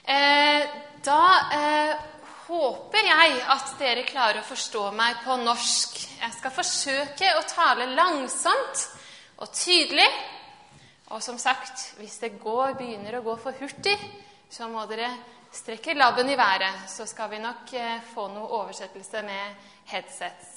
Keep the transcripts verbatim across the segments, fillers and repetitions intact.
Eh, da eh, håper jeg at dere klarer å forstå meg på norsk. Jeg skal forsøke å tale langsomt og tydelig. Og som sagt, hvis det går, begynner å gå for hurtig, så må dere strekke labben i været. Så skal vi nok eh, få noe oversettelse med headsets.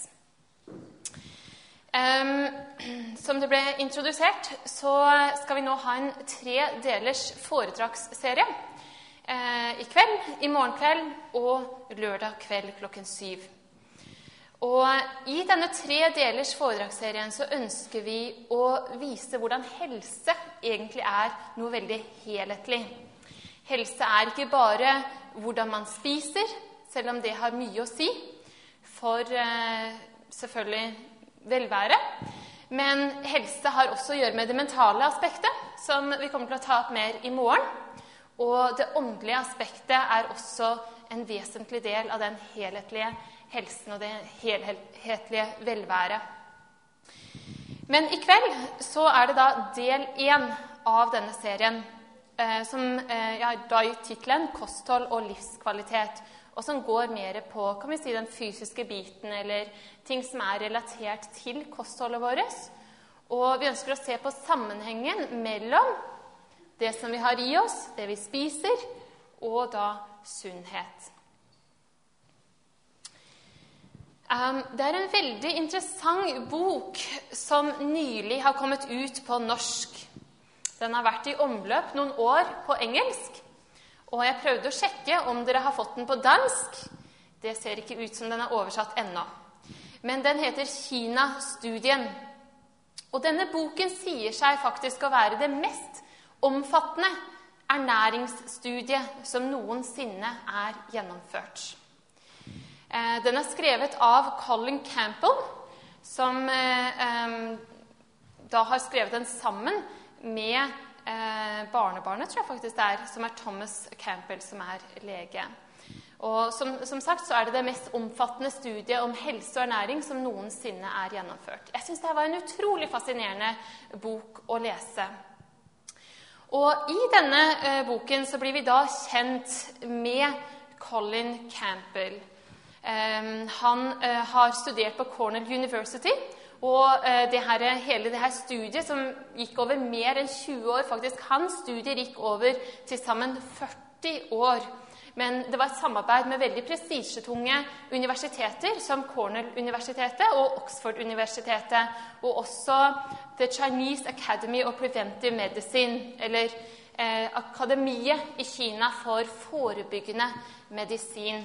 Um, som det ble introdusert, så skal vi nå ha en tre delers foredragsserie. Eh, I kveld, i morgen kveld og lørdag kveld klokken syv. Og i denne tre delers foredragsserien så ønsker vi å vise hvordan helse egentlig er noe veldig helhetlig. Helse er ikke bare hvordan man spiser, selv om det har mye å si for eh, selvfølgelig velvære. Men helse har også å gjøre med det mentale aspektet, som vi kommer til å ta opp mer i morgen. Og det åndelige aspektet er også en vesentlig del av den helhetlige helsen og det helhetlige velvære. Men i kveld så er det da del én av denne serien, eh, som eh, ja, da i titelen «Kosthold og livskvalitet», og som går mer på, kan vi si, den fysiske biten, eller ting som er relatert til kostholdet vårt. Og vi ønsker å se på sammenhengen mellom det som vi har i oss, det vi spiser, og da sunnhet. Um, det er en veldig interessant bok som nylig har kommet ut på norsk. Den har vært i omløp noen år på engelsk, og jeg prøvde å sjekke om dere har fått den på dansk. Det ser ikke ut som den er oversatt ennå. Men den heter Kina-studien. Og denne boken sier seg faktisk å være det mest omfattende ernæringsstudiet som noensinne er gjennomført. Den er skrevet av Colin Campbell, som da har skrevet den sammen med barnebarnet, tror jeg faktisk det er, som er Thomas Campbell, som er lege. Og som, som sagt så er det det mest omfattende studiet om helse og ernæring som noensinne er gjennomført. Jeg synes det var en utrolig fascinerende bok å lese. Og i denne eh, boken så blir vi da kjent med Colin Campbell. Um, han uh, har studert på Cornell University, og uh, det her, hele det her studiet som gikk over mer enn tjue år, faktisk hans studier gikk over til sammen førti år. Men det var et samarbeid med veldig prestisjetunge universiteter, som Cornell-universitetet og Oxford-universitetet, og også The Chinese Academy of Preventive Medicine, eller eh, Akademiet i Kina for forebyggende medisin.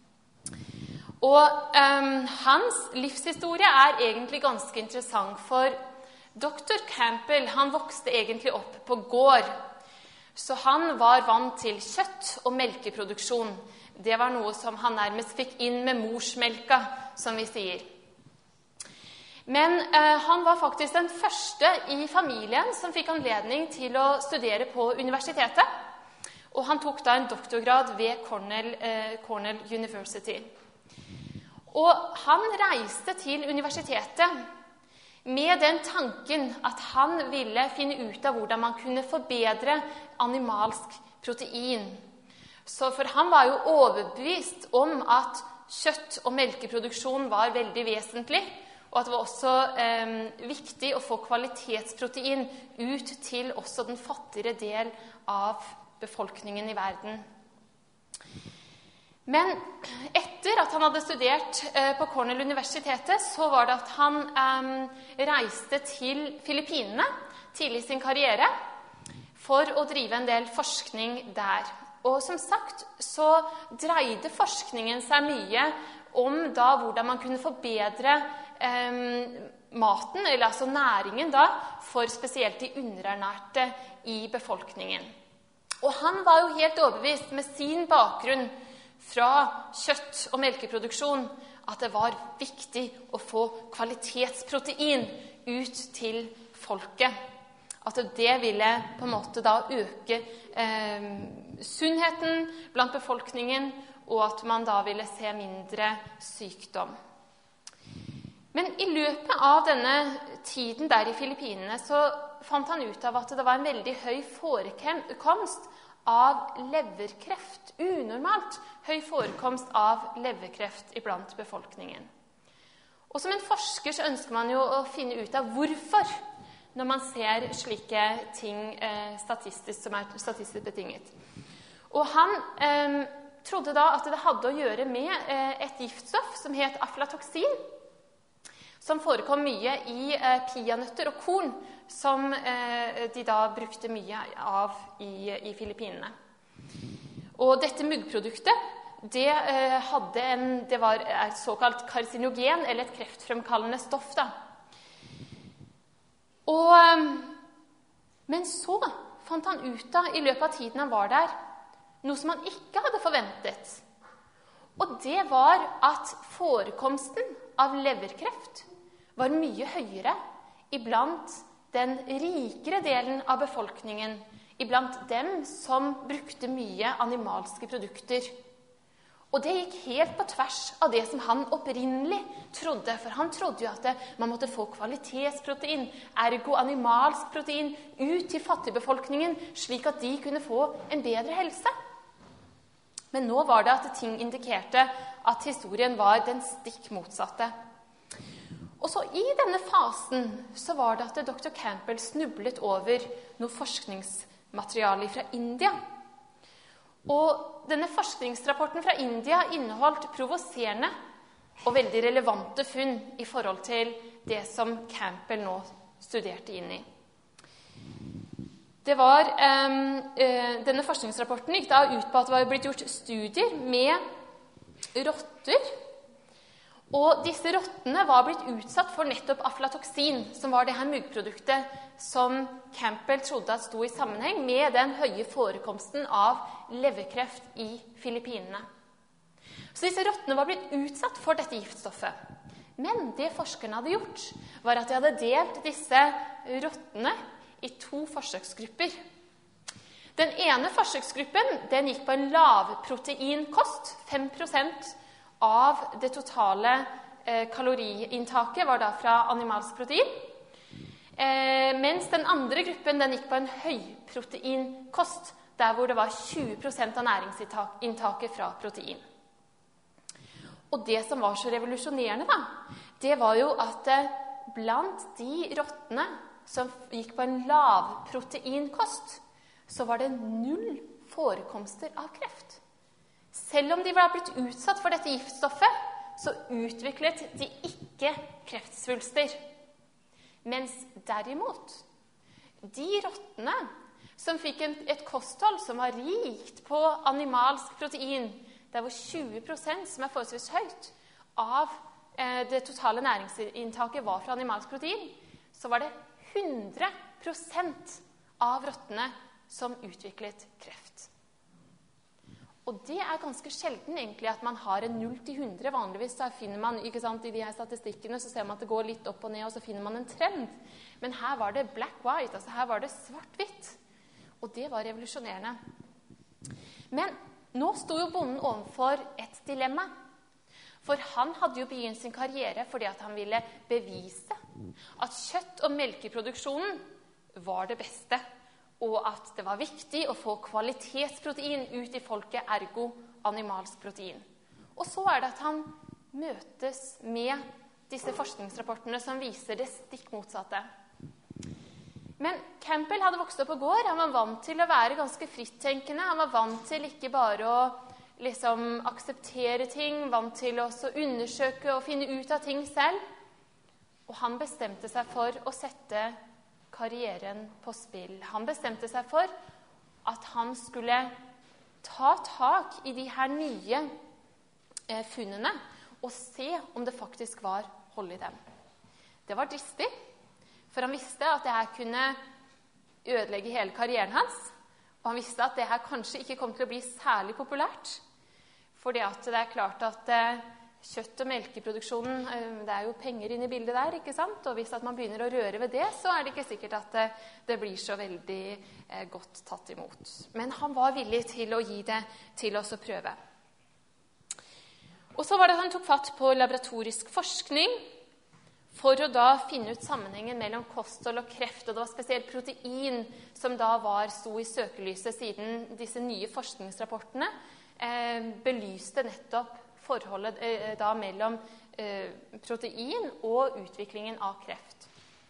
Og um, hans livshistorie er egentlig ganske interessant, for doktor Campbell, han vokste egentlig opp på gård. Så han var vant til kjøtt og melkeproduksjon. Det var noe som han nærmest fikk inn med morsmelka, som vi sier. Men eh, han var faktisk den første i familien som fikk anledning til å studere på universitetet. Og han tok da en doktorgrad ved Cornell, eh, Cornell University. Og han reiste til universitetet med den tanken at han ville finne ut av hvordan man kunne forbedre animalsk protein. Så for han var jo overbevist om at kjøtt- og melkeproduksjon var veldig vesentlig, og at det var også eh, viktig å få kvalitetsprotein ut til også den fattigere del av befolkningen i verden. Men etter at han hadde studert eh, på Cornell-universitetet, så var det at han eh, reiste til Filippinene tidlig i sin karriere for å drive en del forskning der. Og som sagt så dreide forskningen seg mye om da hvordan man kunne forbedre eh, maten, eller altså næringen da, for spesielt de underernærte i befolkningen. Og han var jo helt overbevist med sin bakgrunn fra kjøtt- og melkeproduksjon at det var viktig å få kvalitetsprotein ut til folket. At det ville på en måte da øke eh, sunnheten blant befolkningen, og at man da ville se mindre sykdom. Men i løpet av denne tiden der i Filippinene så fant han ut av at det var en veldig høy forekomst av leverkreft. Unormalt høy forekomst av leverkreft iblant befolkningen. Og som en forsker så ønsker man jo å finne ut av hvorfor, når man ser slike ting eh, statistisk, som er statistisk betinget. Og han eh, trodde da at det hadde å gjøre med eh, et giftstoff som het aflatoksin, som forekom mye i eh, peanøtter og korn, som eh, de da brukte mye av i, i Filippinene. Og dette muggproduktet, det, eh, hadde en, det var et såkalt karsinogen, eller et kreftfremkallende stoff. Da. Og, eh, men så fant han ut av, i løpet av tiden han var der, noe som han ikke hadde forventet. Og det var at forekomsten av leverkreft var mye høyere iblant den rikere delen av befolkningen, iblant dem som brukte mye animalske produkter. Og det gikk helt på tvers av det som han opprinnelig trodde, for han trodde jo at man måtte få kvalitetsprotein, ergo animalsk protein, ut til fattigbefolkningen, slik at de kunne få en bedre helse. Men nå var det at ting indikerte at historien var den stikk motsatte. Og så i denne fasen så var det at doktor Campbell snublet over noe forskningsmateriale fra India. Og denne forskningsrapporten fra India inneholdt provoserende og veldig relevante funn i forhold til det som Campbell nå studerte inn i. Det var, um, uh, denne forskningsrapporten gikk da ut på at det var blitt gjort studier med rotter, og disse rottene var blitt utsatt for nettopp aflatoksin, som var det her muggproduktet som Campbell trodde at sto i sammenheng med den høye forekomsten av leverkreft i Filippinene. Så disse rottene var blitt utsatt for dette giftstoffet. Men det forskerne hadde gjort, var at de hadde delt disse rottene i to forsøksgrupper. Den ene forsøksgruppen den gikk på en lavproteinkost, fem prosent av det totale eh, kaloriinntaket var da fra animalsk protein, eh, mens den andre gruppen den gikk på en høyproteinkost, der hvor det var tjue prosent av næringsinntaket fra protein. Og det som var så revolusjonerende da, det var jo at eh, blant de rottene som gikk på en lavproteinkost, så var det null forekomster av kreft. Selv om de var blitt utsatt for dette giftstoffet, så utviklet de ikke kreftsvulster. Mens derimot, de rottene som fikk en, et kosthold som var rikt på animalsk protein, der hvor tjue prosent, som er forholdsvis høyt, av eh, det totale næringsinntaket var fra animalsk protein, så var det hundre prosent av rottene som utviklet kreft. Og det er ganske sjelden egentlig at man har en null til hundre. Vanligvis så finner man, ikke sant, i de her statistikkene, så ser man at det går litt opp og ned, og så finner man en trend. Men her var det black-white, altså her var det svart-hvitt. Og det var revolusjonerende. Men nå stod jo bonden overfor et dilemma. For han hadde jo begynt sin karriere fordi at han ville bevise at kjøtt- og melkeproduksjonen var det beste, og at det var viktig å få kvalitetsprotein ut i folket, ergo animalsk protein. Og så er det at han møtes med disse forskningsrapportene som viser det stikk motsatte. Men Campbell hadde vokst opp på gård. Han var vant til å være ganske frittenkende. Han var vant til ikke bare å liksom akseptere ting, vant til å undersøke og finne ut av ting selv. Og han bestemte seg for å sette karrieren på spill. Han bestemte seg for at han skulle ta tak i de her nye eh, funnene og se om det faktisk var hold i dem. Det var dristig, for han visste at det her kunne ødelegge hele karrieren hans, og han visste at det her kanskje ikke kom til å bli særlig populært, fordi at det er klart at eh, kjøtt- og melkeproduksjonen, det er jo penger inne i bildet der, ikke sant? Og hvis at man begynner å røre ved det, så er det ikke sikkert at det, det blir så veldig eh, godt tatt imot. Men han var villig til å gi det til oss å prøve. Og så var det at han tok fatt på laboratorisk forskning for å da finne ut sammenhengen mellom kosthold og kreft. Og det var spesielt protein som da var sto i søkelyset, siden disse nye forskningsrapportene eh, belyste nettopp forholdet eh, da mellom eh, protein og utviklingen av kreft.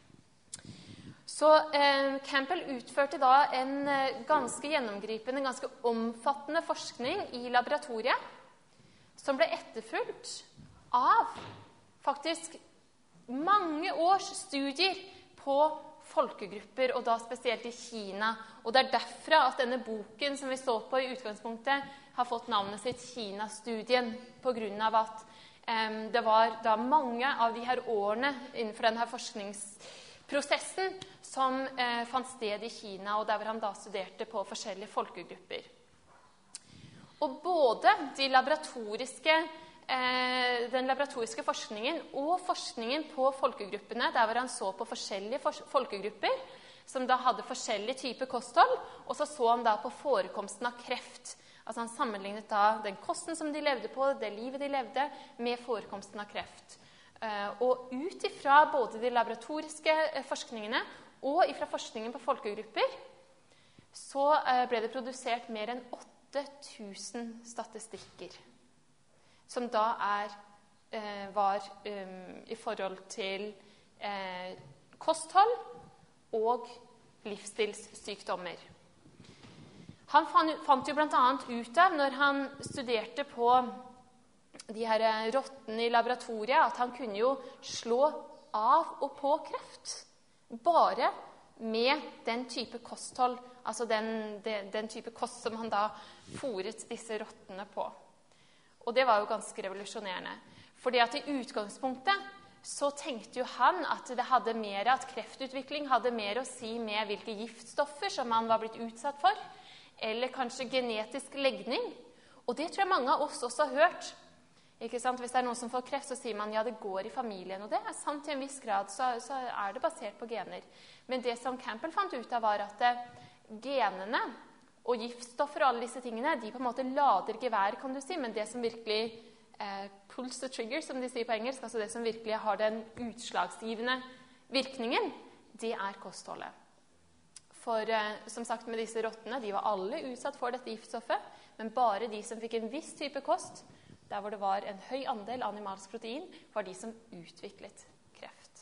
Så eh, Campbell utførte da en eh, ganske gjennomgripende, ganske omfattende forskning i laboratoriet, som ble etterfulgt av faktisk mange års studier på folkegrupper, og da spesielt i Kina. Og det er derfra at denne boken som vi så på i utgangspunktet, har fått navnet sitt Kina-studien, på grunn av at eh, det var da mange av de her årene innenfor denne forskningsprosessen som eh, fant sted i Kina, og der hvor han da studerte på forskjellige folkegrupper. Og både de laboratoriske den laboratoriske forskningen og forskningen på folkegruppene, der hvor han så på forskjellige folkegrupper, som da hadde forskjellige typer kosthold, og så så han da på forekomsten av kreft. Altså han sammenlignet da den kosten som de levde på, det livet de levde, med forekomsten av kreft. Og ut ifra både de laboratoriske forskningene og ifra forskningen på folkegrupper, så ble det produsert mer enn åtte tusen statistikker, som da er, eh, var um, i forhold til eh, kosthold og livsstilssykdommer. Han fant, fant jo blant annet ut av, når han studerte på de her rottene i laboratoriet, at han kunne jo slå av og på kreft, bare med den type kosthold, altså den, den, den type kost som han da fôret disse rottene på. Og det var jo ganske revolusjonerende. Fordi at i utgangspunktet så tenkte jo han at det hadde mer, at kreftutvikling hadde mer å si med hvilke giftstoffer som han var blitt utsatt for, eller kanskje genetisk legning. Og det tror jeg mange av oss også har hørt. Ikke sant? Hvis det er noen som får kreft, så sier man ja, det går i familien. Og det er sant til en viss grad, så, så er det basert på gener. Men det som Campbell fant ut av, var at genene og giftstoffer og alle disse tingene, de på en måte lader gevær, kan du si, men det som virkelig eh, pulls the trigger, som de sier på engelsk, altså det som virkelig har den utslagsgivende virkningen, det er kostholdet. For eh, som sagt med disse rottene, de var alle utsatt for dette giftstoffet, men bare de som fikk en viss type kost, der hvor det var en høy andel animalsk protein, var de som utviklet kreft.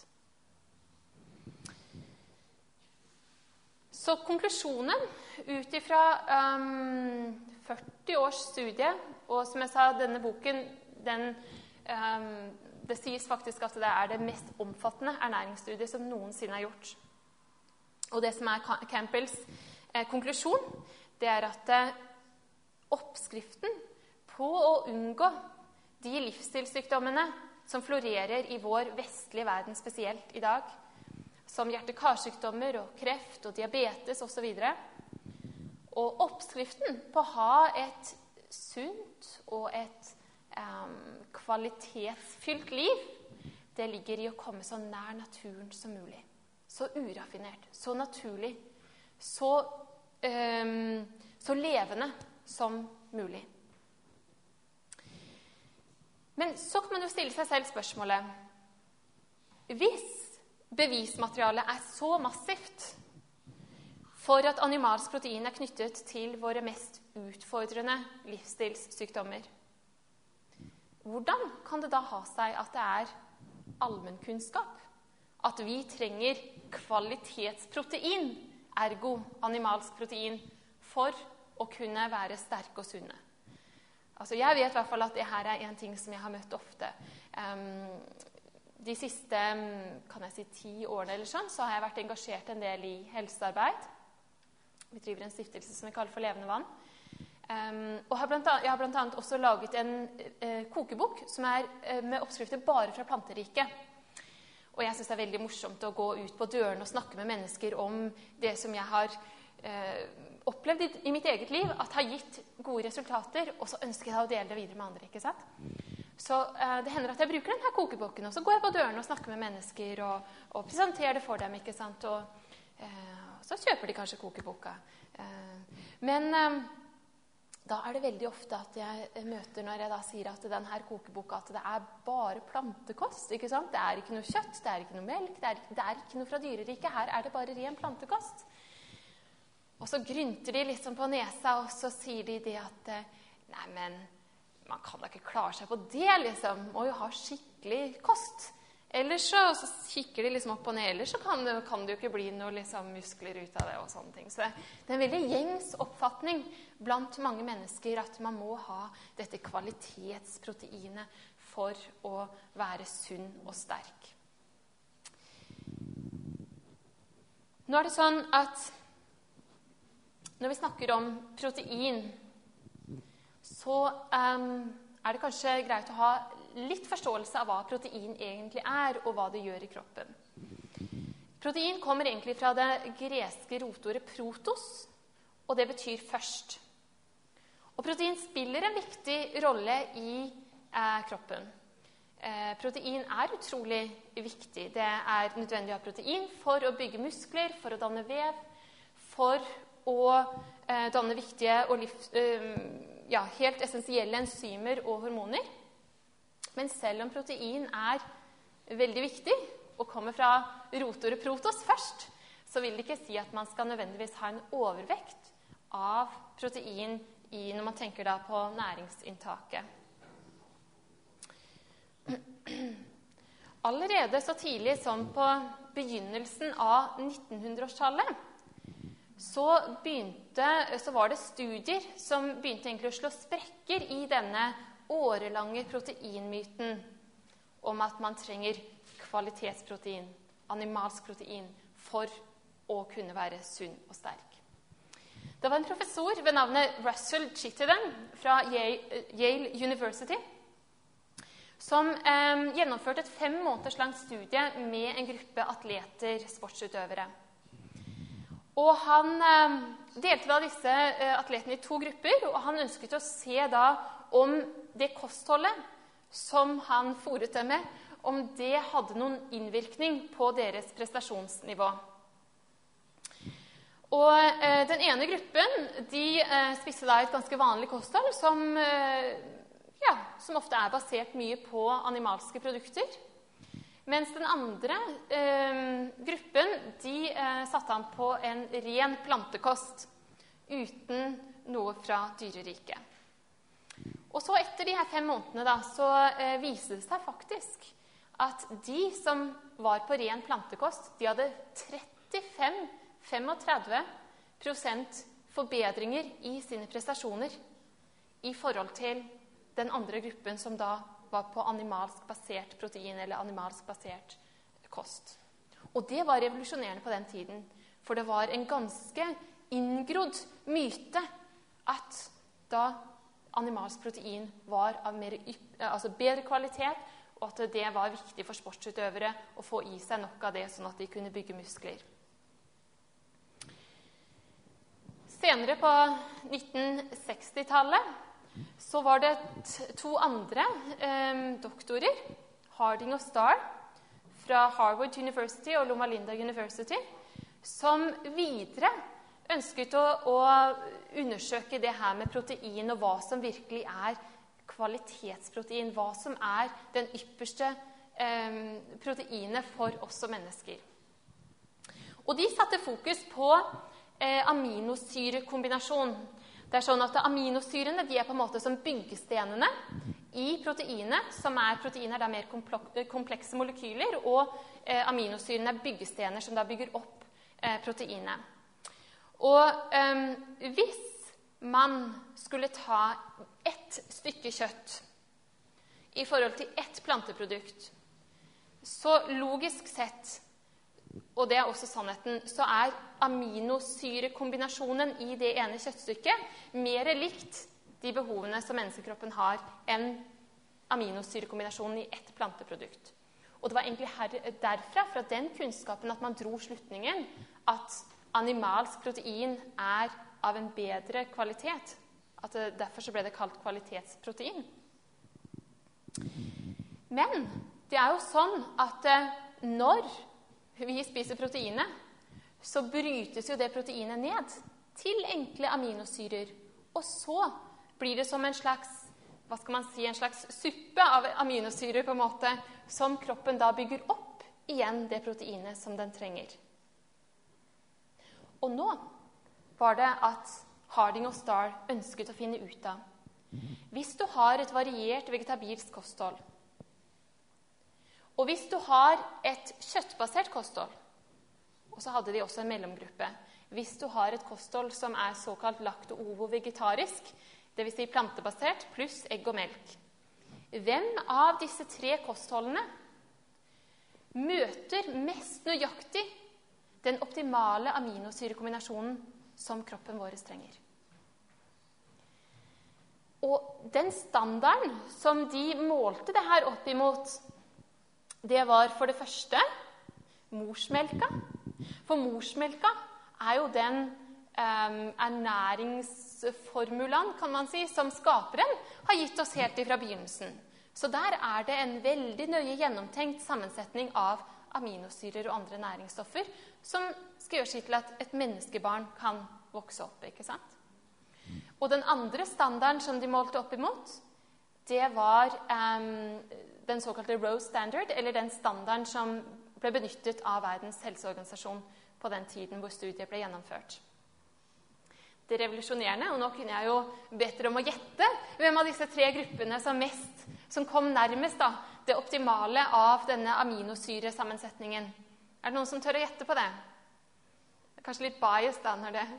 Så konklusjonen ut ifra um, førti års studie, og som jeg sa, denne boken, den, um, det sies faktisk at det er det mest omfattende ernæringsstudiet som noensinne er gjort. Og det som er Campbells eh, konklusjon, det er at eh, oppskriften på å unngå de livsstilssykdommene som florerer i vår vestlige verden spesielt i dag, som hjerte-karsykdommer og kreft og diabetes og så videre. Og oppskriften på å ha et sunt og et um, kvalitetsfylt liv, det ligger i å komme så nær naturen som mulig. Så uraffinert, så naturlig, så, um, så levende som mulig. Men så kan man jo stille seg selv spørsmålet, hvis bevismaterialet er så massivt for at animalsk protein er knyttet til våre mest utfordrende livsstilssykdommer, hvordan kan det da ha seg at det er allmennkunnskap? At vi trenger kvalitetsprotein, ergo animalsk protein, for å kunne være sterke og sunne? Altså, jeg vet i hvert fall at det her er en ting som jeg har møtt ofte. Um, de siste, kan jeg si, ti årene eller sånn, så har jeg vært engasjert en del i helsearbeid. Vi driver en stiftelse som vi kaller for Levende Vann. Um, og har blant annet, jeg har blant annet også laget en uh, kokebok som er uh, med oppskrifter bare fra planteriket. Og jeg synes det er veldig morsomt å gå ut på døren og snakke med mennesker om det som jeg har uh, opplevd i, i mitt eget liv, at har gitt gode resultater, og så ønsker jeg å dele det videre med andre, ikke sant? Så uh, det hender at jeg bruker denne kokeboken, og så går jeg på døren og snakker med mennesker, og, og presenterer det for dem, ikke sant? Og uh, så kjøper de kanskje kokeboka. Uh, men uh, da er det veldig ofte at jeg møter når jeg da sier at den her kokeboka, at det er bare plantekost, ikke sant? Det er ikke noe kjøtt, det er ikke noe melk, det er, det er ikke noe fra dyreriket. Her er det bare ren plantekost. Og så grynter de liksom på nesa, og så sier de det at nei, men man kan da ikke klare seg på det, liksom. Må jo ha skikkelig kost. Ellers så, så kikker de liksom opp og ned, ellers så kan det, kan det jo ikke bli noe liksom, muskler ut av det og sånne ting. Så det er en veldig gjengs oppfatning blant mange mennesker at man må ha dette kvalitetsproteinet for å være sunn og sterk. Nå er det sånn at når vi snakker om protein, så um, er det kanskje greit å ha litt forståelse av hva protein egentlig er, og hva det gjør i kroppen. Protein kommer egentlig fra det greske rotordet protos, og det betyr først. Og protein spiller en viktig rolle i eh, kroppen. Eh, protein er utrolig viktig. Det er nødvendig å ha protein for å bygge muskler, for å danne vev, for å eh, danne viktige og livs, eh, ja, helt essensielle enzymer og hormoner. Men selv om protein er veldig viktig, og kommer fra rotordet protos først, så vil det ikke si at man skal nødvendigvis ha en overvekt av protein i, når man tenker da på næringsinntaket. Allerede så tidlig som på begynnelsen av nittenhundreårstallet, så, begynte, så var det studier som begynte egentlig å slå sprekker i denne årelange proteinmyten om at man trenger kvalitetsprotein, animalsk protein, for å kunne være sunn og sterk. Det var en professor ved navnet Russell Chittenden fra Yale University som eh, gjennomførte et fem måneders langt studie med en gruppe atleter, sportsutøvere. Og han eh, delte da disse eh, atletene i to grupper, og han ønsket å se da om det kostholdet som han fôret dem med, om det hadde noen innvirkning på deres prestasjonsnivå. Og eh, den ene gruppen, de eh, spiste da et ganske vanlig kosthold, som, eh, ja, som ofte er basert mye på animalske produkter. Mens den andre eh, gruppen, de eh, satte han på en ren plantekost, uten noe fra dyreriket. Og så etter de her fem månedene da, så eh, viste det seg faktisk at de som var på ren plantekost, de hadde trettifem til femogtredve prosent forbedringer i sine prestasjoner i forhold til den andre gruppen som da var på animalsk basert protein eller animalsk basert kost. Og det var revolusjonerende på den tiden, for det var en ganske inngrodd myte at da animalsk protein var av mer, altså bedre kvalitet, og at det var viktig for sportsutøvere å få i seg nok av det, sånn at de kunne bygge muskler. Senere på nitten seksti-tallet så var det to andre eh, doktorer, Harding og Starr, fra Harvard University og Loma Linda University, som videre ønsket å, å undersøke det her med protein, og hva som virkelig er kvalitetsprotein, hva som er den ypperste eh, proteinet for oss som mennesker. Og de satte fokus på eh, aminosyrekombinasjon. Det er sånn at aminosyrene de er på en måte som byggestenene i proteinet, som er proteiner, det er mer komplekse molekyler, og eh, aminosyrene er byggestener som da bygger opp eh, proteinet. Og eh, hvis man skulle ta ett stykke kjøtt i forhold til ett planteprodukt, så logisk sett, og det er også sannheten, så er aminosyrekombinasjonen i det ene kjøttstykket mer likt de behovene som menneskekroppen har enn aminosyrekombinasjonen i ett planteprodukt. Og det var egentlig her, derfra, fra den kunnskapen, at man dro slutningen at animalsk protein er av en bedre kvalitet. At det, derfor så ble det kalt kvalitetsprotein. Men det er jo sånn at når vi spiser proteinet, så brytes jo det proteinet ned til enkle aminosyrer, og så blir det som en slags, hva skal man si, en slags suppe av aminosyrer på en måte, som kroppen da bygger opp igjen det proteinet som den trenger. Og nå var det at Harding og Starr ønsket å finne ut av. Hvis du har et variert vegetabilsk kosthold, og hvis du har et kjøttbasert kosthold, og så hadde de også en mellomgruppe, hvis du har et kosthold som er såkalt lakto-ovo-vegetarisk, det vil si plantebasert, pluss egg og melk. Hvem av disse tre kostholdene møter mest nøyaktig den optimale aminosyrekombinasjonen som kroppen vår trenger? Og den standarden som de målte det her opp imot, det var for det første morsmelka. For morsmelka er jo den um, ernæringsformulaen, kan man si, som skaperen har gitt oss helt ifra begynnelsen. Så der er det en veldig nøye gjennomtenkt sammensetning av aminosyrer og andre næringsstoffer som skal gjøre seg til at et menneskebarn kan vokse opp, ikke sant? Og den andre standarden som de målte opp imot, det var um, den såkalte Rose Standard, eller den standarden som ble benyttet av Verdens helseorganisasjon på den tiden hvor studiet ble gjennomført. Det revolusjonerende, og nå kunne jeg jo bedt dere om å gjette hvem av disse tre gruppene som mest, som kom nærmest da, det optimale av denne aminosyresammensetningen. Er det noen som tør å gjette på det? Det er kanskje litt bias da når det...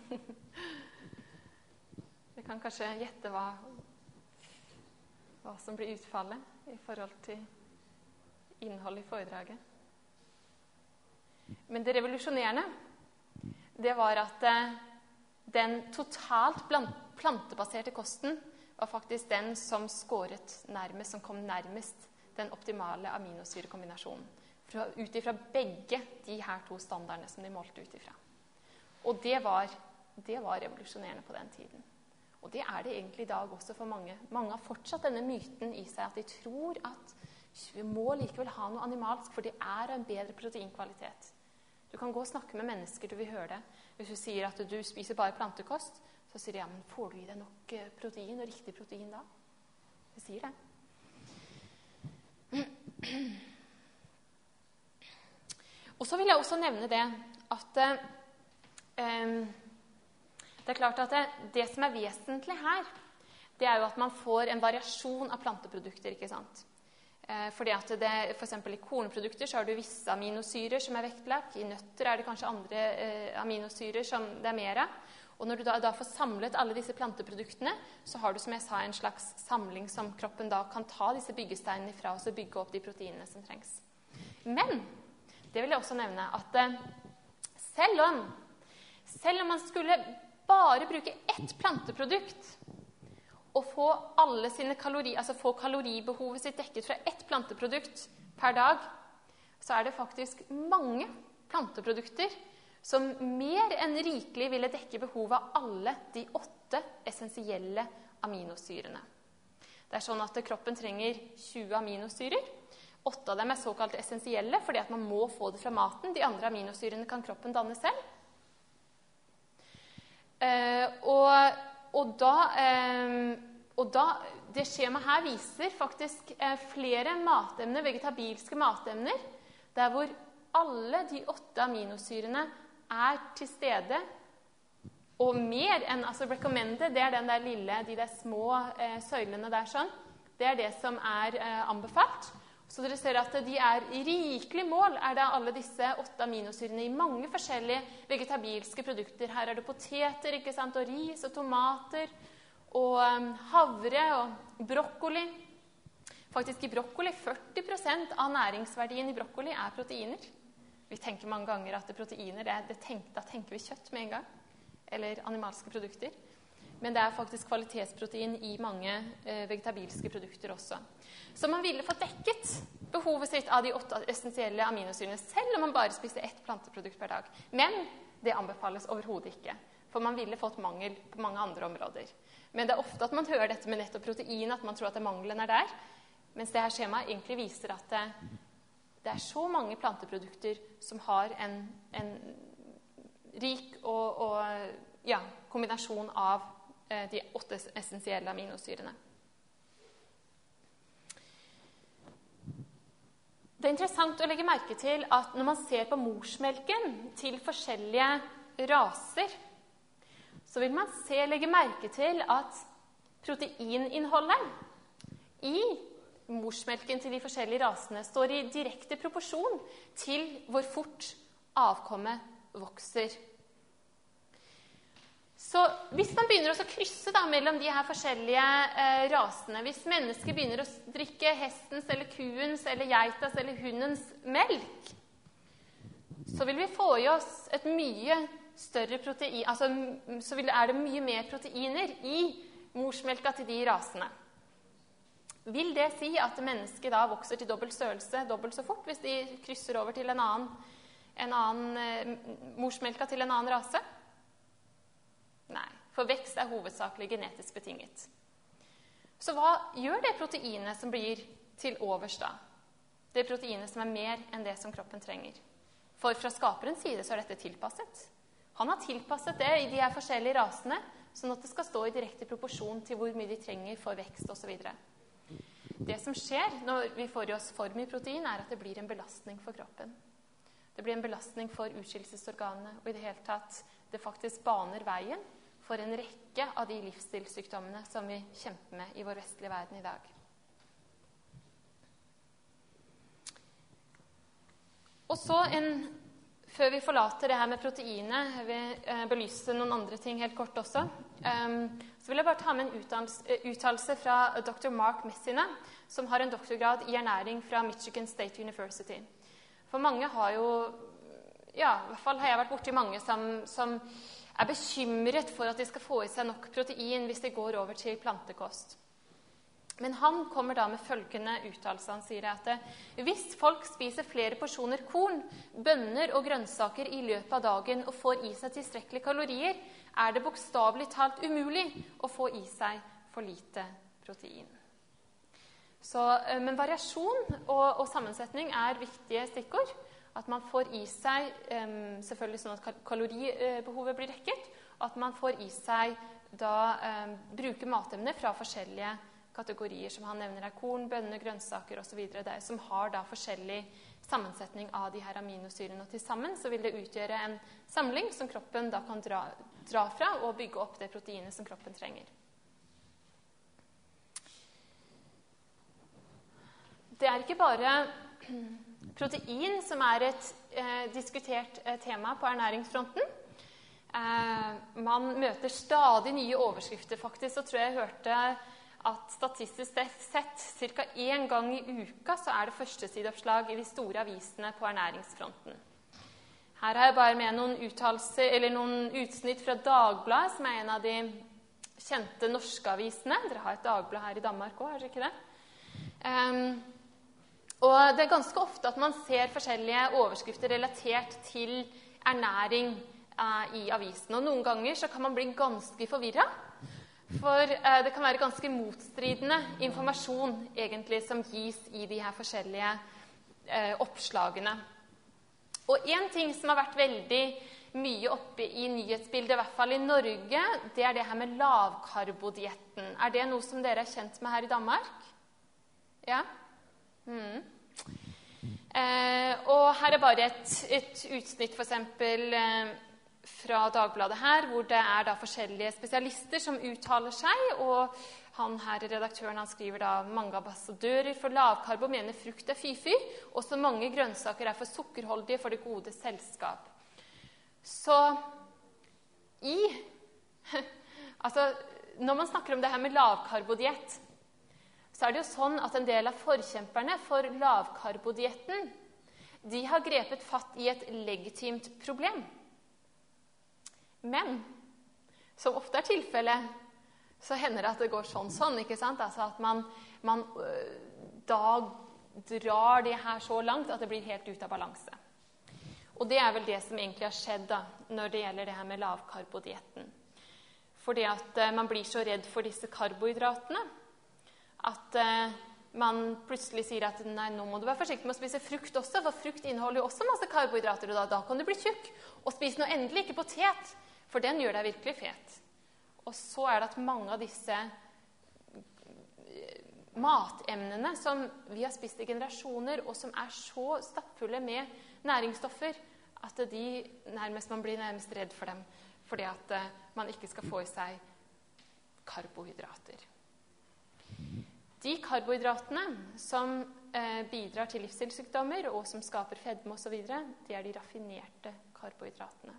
Dere kan kanskje gjette hva, hva som blir utfallet i forhold til innhold i foredraget. Men det revolusjonerende, det var at eh, den totalt plantebaserte kosten var faktisk den som skåret nærmest, som kom nærmest den optimale aminosyrekombinasjonen. Fra, ut ifra begge de her to standardene som de målte ut ifra. Og det var, det var revolusjonerende på den tiden. Og det er det egentlig i dag også for mange. Mange har fortsatt denne myten i seg at de tror at vi må likevel ha noe animalsk, for det er en bedre proteinkvalitet. Du kan gå og snakke med mennesker, du vil høre det. Hvis du sier at du spiser bare plantekost, så sier de, ja, men får du i deg nok protein, og riktig protein da? De sier det. Og så vil jeg også nevne det, at um, det er klart at det, det som er vesentlig her, det er jo at man får en variasjon av planteprodukter, ikke sant? Eh, fordi at det, for eksempel i kornprodukter så har du visse aminosyrer som er vektlagt. I nøtter er det kanskje andre eh, aminosyrer som det er mer av. Og når du da, da får samlet alle disse planteproduktene, så har du, som jeg sa, en slags samling som kroppen da kan ta disse byggesteinene fra og så bygge opp de proteinene som trengs. Men det vil jeg også nevne at eh, selv om, selv om man skulle bare bruke ett planteprodukt og få alle sine kalorier, altså få kaloribehovet sitt dekket fra ett planteprodukt per dag, så er det faktisk mange planteprodukter som mer enn rikelig ville dekke behovet av alle de åtte essensielle aminosyrene. Det er sånn at kroppen trenger tjue aminosyrer. Åtte av dem er såkalt essensielle, fordi at man må få det fra maten. De andre aminosyrene kan kroppen danne selv. Uh, og, og, da, uh, og da, det skjemaet her viser faktisk uh, flere matemner, vegetabilske matemner, der hvor alle de åtte aminosyrene er til stede, og mer enn, altså recommended, det er den der lille, de der små uh, søylene der sånn, det er det som er uh, anbefalt. Så dere ser at de er i rikelig mål, er det alle disse åtte aminosyrene i mange forskjellige vegetabilske produkter. Her er det poteter, ikke sant, og ris og tomater, og um, havre og brokkoli. Faktisk i brokkoli, førti prosent av næringsverdien i brokkoli er proteiner. Vi tenker mange ganger at det proteiner, det, det tenk, da tenker vi kjøtt med en gang, eller animalske produkter. Men det er faktisk kvalitetsprotein i mange eh, vegetabilske produkter også. Så man ville fått dekket behovet sitt av de åtte essensielle aminosyrene, selv om man bare spiste ett planteprodukt per dag. Men det anbefales overhodet ikke, for man ville fått mangel på mange andre områder. Men det er ofte at man hører dette med nettopp protein, at man tror at det mangelen er der, mens det her skjemaet egentlig viser at det, det er så mange planteprodukter som har en, en rik og, og ja, kombinasjon av eh, de åtte essensielle aminosyrene. Det er interessant å legge merke til at når man ser på morsmelken til forskjellige raser, så vil man se, legge merke til at proteininnholdet i morsmelken til de forskjellige rasene står i direkte proporsjon til hvor fort avkommet vokser. Så hvis man begynner å krysse da, mellom de her forskjellige eh, rasene, hvis mennesker begynner å drikke hestens eller kuens eller geitas eller hundens melk, så vil vi få i oss et mye større protein, altså så vil, er det mye mer proteiner i morsmelka til de rasene. Vil det si at mennesket da vokser til dobbelt størrelse, dobbelt så fort, hvis de krysser over til en annen, en annen eh, morsmelka til en annen rase? Nei, for vekst er hovedsakelig genetisk betinget. Så hva gjør det proteinet som blir til overs da? Det proteinet som er mer enn det som kroppen trenger. For fra skaperens side så er dette tilpasset. Han har tilpasset det i de her forskjellige rasene, sånn at det skal stå i direkte proporsjon til hvor mye de trenger for vekst og så videre. Det som skjer når vi får i oss for mye protein, er at det blir en belastning for kroppen. Det blir en belastning for utskillelsesorganene, og i det hele tatt det faktisk baner veien for en rekke av de livsstilssykdommene som vi kjemper med i vår vestlige verden i dag. Og så, en, før vi forlater det her med proteinet, jeg vil belyse noen andre ting helt kort også, um, så vil jeg bare ta med en uttalelse fra doktor Mark Messina, som har en doktorgrad i ernæring fra Michigan State University. For mange har jo, ja, i hvert fall har jeg vært borti mange som, som er bekymret for at de skal få i seg nok protein hvis de går over til plantekost. Men han kommer da med følgende uttalelse. Han sier at hvis folk spiser flere porsjoner korn, bønner og grønnsaker i løpet av dagen og får i seg tilstrekkelige kalorier, er det bokstavelig talt umulig å få i seg for lite protein. Så, men variasjon og, og sammensetning er viktige stikkord. At man får i seg, um, selvfølgelig sånn at kaloribehovet blir dekket, og at man får i seg da um, bruke matemner fra forskjellige kategorier, som han nevner er korn, bønner, grønnsaker og så videre, som har da forskjellig sammensetning av de her aminosyrene. Og til sammen så vil det utgjøre en samling som kroppen da kan dra, dra fra og bygge opp det proteinet som kroppen trenger. Det er ikke bare protein som er et eh, diskutert eh, tema på ernæringsfronten. Eh, man møter stadig nye overskrifter. Faktisk så tror jeg jeg hørte at statistisk sett ca. én gang i uka så er det førstesideoppslag i de store avisene på ernæringsfronten. Her har jeg bare med noen uttalelser, eller noen utsnitt fra Dagbladet, som er en av de kjente norske avisene. Dere har et Dagblad her i Danmark også, har dere ikke det? Um, Og det er ganske ofte at man ser forskjellige overskrifter relatert til ernæring eh, i avisen. Og noen ganger så kan man bli ganske forvirret, for eh, det kan være ganske motstridende informasjon egentlig som gis i de her forskjellige eh, oppslagene. Og en ting som har vært veldig mye oppe i nyhetsbildet, i hvert fall i Norge, det er det her med lavkarbodietten. Er det noe som dere er kjent med her i Danmark? Ja? Mm. Eh, og her er bare et, et utsnitt for eksempel eh, fra Dagbladet her, hvor det er da forskjellige spesialister som uttaler seg, og han her, redaktøren, han skriver da mange ambassadører for lavkarbo mener frukt er fy-fy, og så mange grønnsaker er for sukkerholdige for det gode selskap. Så i altså, når man snakker om det her med lavkarbodiett, så er det jo sånn at en del av forkjemperne for lavkarbodietten, de har grepet fatt i et legitimt problem. Men, som ofte er tilfellet, så hender det at det går sånn-sånn, ikke sant? Altså at man, man da drar det her så langt at det blir helt ut av balanse. Og det er vel det som egentlig har skjedd da, når det gjelder det her med lavkarbodietten. Fordi at man blir så redd for disse karbohydratene, at uh, man plutselig sier at nei, nå må du være forsiktig med å spise frukt også, for frukt inneholder jo også masse karbohydrater, og da, da kan du bli tjukk. Og spise nå endelig ikke potet, for den gjør deg virkelig fet. Og så er det at mange av disse matemnene som vi har spist i generasjoner, og som er så stappfulle med næringsstoffer, at de nærmest, man blir nærmest redd for dem, fordi at man ikke skal få i seg karbohydrater. De karbohydratene som eh, bidrar til livsstilssykdommer, og som skaper fedme og så videre, det er de raffinerte karbohydratene.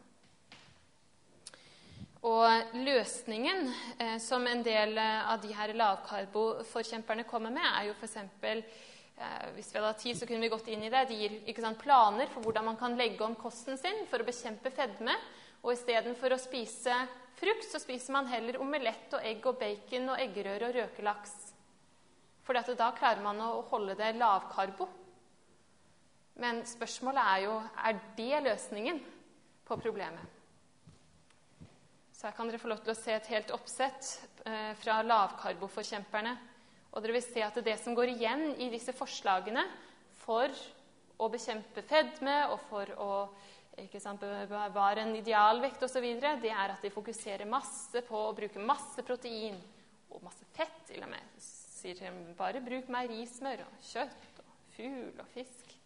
Og løsningen eh, som en del av de her lavkarboforkjemperne kommer med, er jo for eksempel, eh, hvis vi hadde hatt tid, så kunne vi gått inn i det. De gir ikke sant, planer for hvordan man kan legge om kosten sin for å bekjempe fedme. Og i stedet for å spise frukt, så spiser man heller omelett og egg og bacon og eggerøre og røkelaks. For da klarer man å holde det lavkarbo. Men spørsmålet er jo, er det løsningen på problemet? Så her kan dere få lov til å se et helt oppsett eh, fra lavkarboforkjemperne. Og dere vil se at det som går igjen i disse forslagene for å bekjempe fedme og for å ikke sant, bevare en idealvekt og så videre, det er at de fokuserer masse på å bruke masse protein og masse fett til og med. Sier de bare bruk meierismør og kjøtt og fugl og fisk.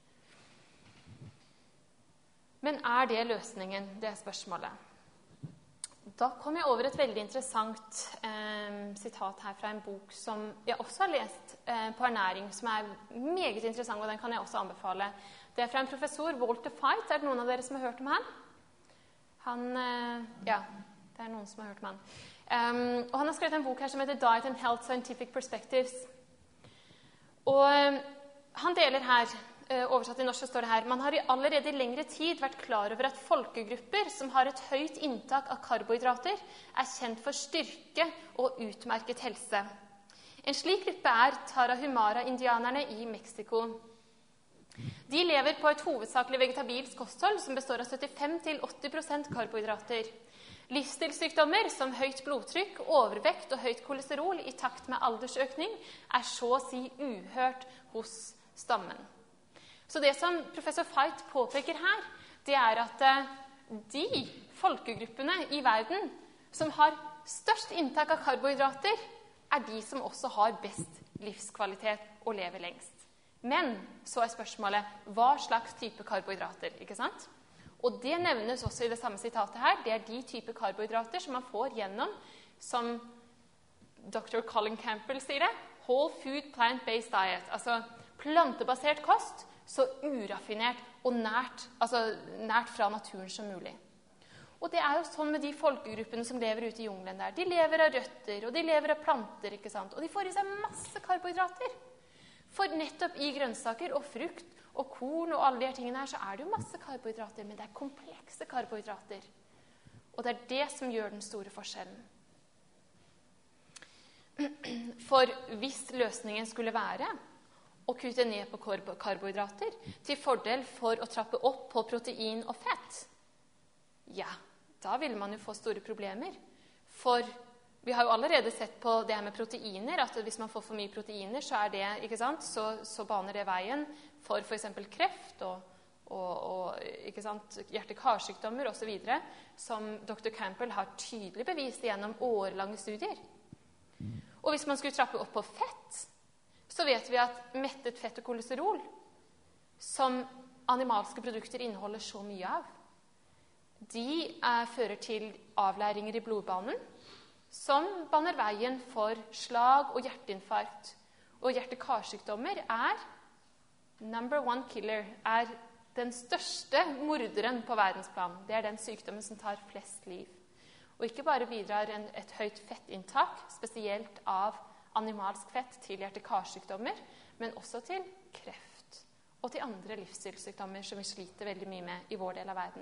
Men er det løsningen? Det er spørsmålet. Da kom jeg over et veldig interessant eh, sitat her fra en bok som jeg også har lest eh, på ernæring, som er meget interessant, og den kan jeg også anbefale. Det er fra en professor, Walter Feit. Er det noen av dere som har hørt om han? Han, eh, ja, det er noen som har hørt om han. Um, og han har skrevet en bok her som heter Diet and Health Scientific Perspectives. Og eh, han deler her, oversatt i norsk står det her, man har i allerede lengre tid vært klar over at folkegrupper som har et høyt inntak av karbohydrater er kjent for styrke og utmerket helse. En slik gruppe er Tarahumara-indianerne i Mexico. De lever på et hovedsakelig vegetabilsk kosthold som består av syttifem til åtti prosent karbohydrater. Livsstilssykdommer som høyt blodtrykk, overvekt og høyt kolesterol i takt med aldersøkning er så å si uhørt hos stammen. Så det som professor Feit påpeker her, det er at de folkegruppene i verden som har størst inntak av karbohydrater, er de som også har best livskvalitet og lever lengst. Men så er spørsmålet, hva slags type karbohydrater, ikke sant? Og det nevnes også i det samme sitatet her. Det er de type karbohydrater som man får gjennom, som doktor Colin Campbell sier det, whole food plant-based diet, altså plantebasert kost, så uraffinert og nært, altså nært fra naturen som mulig. Og det er jo sånn med de folkegruppene som lever ute i jungelen der. De lever av røtter, og de lever av planter, ikke sant? Og de får i seg masse karbohydrater. For nettopp i grønnsaker og frukt og korn og alle de her tingene her, så er det jo masse karbohydrater, men det er komplekse karbohydrater. Og det er det som gjør den store forskjellen. For hvis løsningen skulle være å kutte ned på karbohydrater til fordel for å trappe opp på protein og fett, ja, da vil man jo få store problemer. For vi har jo allerede sett på det her med proteiner, at hvis man får for mye proteiner, så er det, ikke sant, så, så baner det veien for for eksempel kreft og, og, og ikke sant, hjerte-karsykdommer og så videre, som doktor Campbell har tydelig bevist gjennom årelange studier. Og hvis man skulle trappe opp på fett, så vet vi at mettet fett og kolesterol, som animalske produkter inneholder så mye av, de er, fører til avlæringer i blodbanen, som baner veien for slag og hjerteinfarkt. Og hjerte-karsykdommer er number one killer, er den største morderen på verdensplan. Det er den sykdommen som tar flest liv. Og ikke bare bidrar en, et høyt fettinntak, spesielt av animalsk fett, til hjerte-karsykdommer, men også til kreft og til andre livsstilssykdommer som vi sliter veldig mye med i vår del av verden.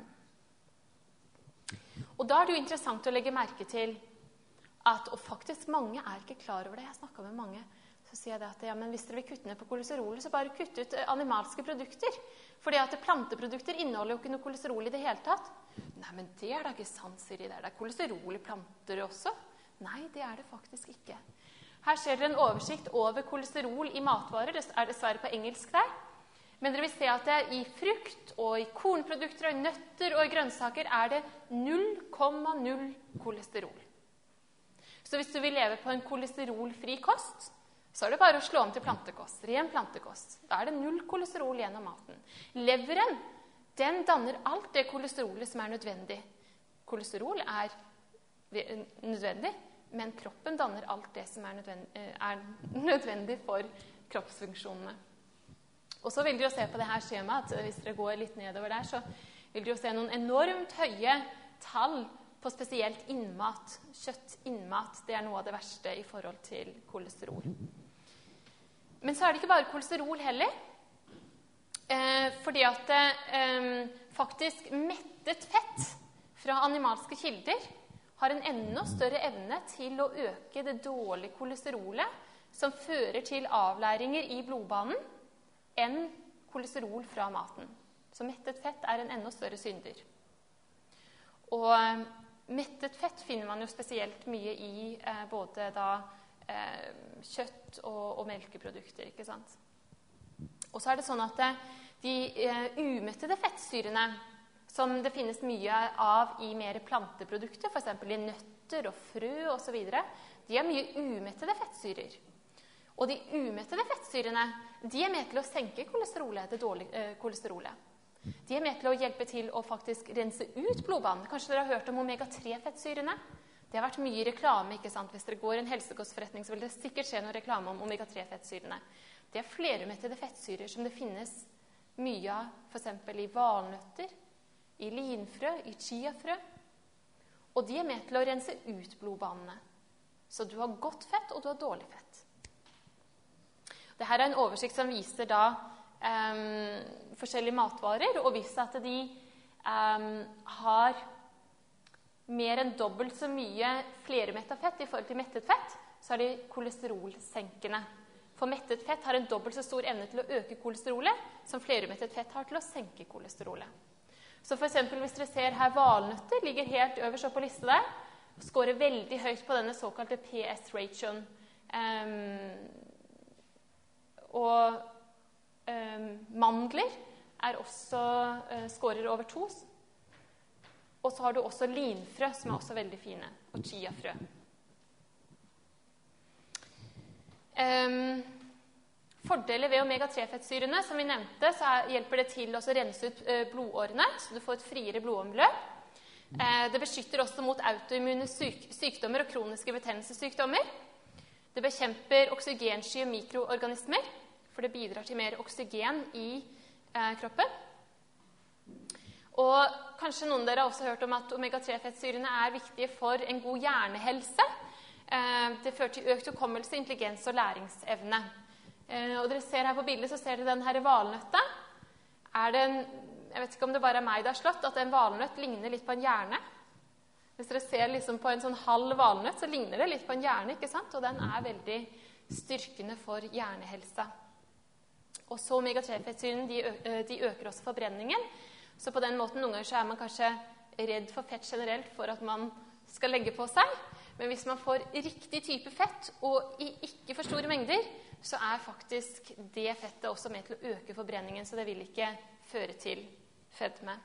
Og da er det jo interessant å legge merke til at, og faktisk mange er ikke klar over det, jeg snakket med mange, så sier jeg det at ja, men hvis dere vil kutte ned på kolesterolet, så bare kutt ut animalske produkter. Fordi at planteprodukter inneholder jo ikke noe kolesterol i det hele tatt. Nei, men det er da ikke sant, sier de der. Det er kolesterol i planter også. Nei, det er det faktisk ikke. Her ser dere en oversikt over kolesterol i matvarer. Det er dessverre på engelsk der. Men dere vil se at det i frukt og i kornprodukter og i nøtter og i grønnsaker er det null komma null kolesterol. Så hvis du vil leve på en kolesterolfri kost, så er det bare å slå om til plantekost, ren plantekost. Da er det null kolesterol gjennom maten. Leveren, den danner alt det kolesterolet som er nødvendig. Kolesterol er nødvendig, men kroppen danner alt det som er nødvendig, er nødvendig for kroppsfunksjonene. Og så vil dere se på det her skjemaet, at hvis dere går litt nedover der, så vil dere se noen enormt høye tall på spesielt innmat. Kjøtt, innmat, det er noe av det verste i forhold til kolesterol. Men så er det ikke bare kolesterol heller, eh, fordi at eh, faktisk mettet fett fra animalske kilder har en enda større evne til å øke det dårlige kolesterolet som fører til avleiringer i blodbanen enn kolesterol fra maten. Så mettet fett er en enda større synder. Og eh, mettet fett finner man jo spesielt mye i eh, både da eh, kjøtt og, og melkeprodukter, ikke sant? Og så er det sånn at eh, de eh, umettede fettsyrene, som det finnes mye av i mer planteprodukter, for eksempel i nøtter og frø og så videre, de er mye umettede fettsyrer. Og de umettede fettsyrene, de er med til å senke kolesterolet, det dårlige eh, kolesterolet. De er med til å hjelpe til å faktisk rense ut blodbanen. Kanskje dere har hørt om omega tre fettsyrene? Det har vært mye reklame, ikke sant? Hvis dere går i en helsekostforretning, så vil det sikkert skje noe reklame om omega tre fettsyrene. Det er flerumettede fettsyrer som det finnes mye av, for eksempel i valnøtter, i linfrø, i chiafrø. Og de er med til å rense ut blodbanene. Så du har godt fett, og du har dårlig fett. Dette er en oversikt som viser da um, forskjellige matvarer, og viser at de um, har mer enn dobbelt så mye flermettet fett i forhold til mettet fett, så er de kolesterolsenkende. For mettet fett har en dobbelt så stor evne til å øke kolesterolet, som flermettet fett har til å senke kolesterolet. Så for eksempel hvis dere ser her, valnøtter ligger helt øverst på lista der, og skårer veldig høyt på denne såkalte P S-ratioen. Um, og um, mandler er også uh, skårer over to. Og så har du også linfrø, som er også veldig fine, og chiafrø. Um, fordeler ved omega tre fettsyrene, som vi nevnte, så er, hjelper det til å rense ut uh, blodårene, så du får et friere blodomløp. Uh, det beskytter også mot autoimmune syk sykdommer og kroniske betennelsessykdommer. Det bekjemper oksygensky mikroorganismer, for det bidrar til mer oksygen i uh, kroppen. Og kanskje noen av dere har også hørt om at omega tre fettsyrene er viktige for en god hjernehelse. Det fører til økt hukommelse, intelligens og læringsevne. Og dere ser her på bildet, så ser dere den her valnøtta. Er det en, jeg vet ikke om det bare er meg det har slått, at en valnøtt ligner litt på en hjerne. Hvis dere ser liksom på en sånn halv valnøtt, så ligner det litt på en hjerne, ikke sant? Og den er veldig styrkende for hjernehelsa. Og så omega tre fettsyrene, de, de øker også forbrenningen. Så på den måten, noen ganger så er man kanskje redd for fett generelt for at man skal legge på seg. Men hvis man får riktig type fett, og i ikke for store mengder, så er faktisk det fettet også med til å øke forbrenningen, så det vil ikke føre til fedme.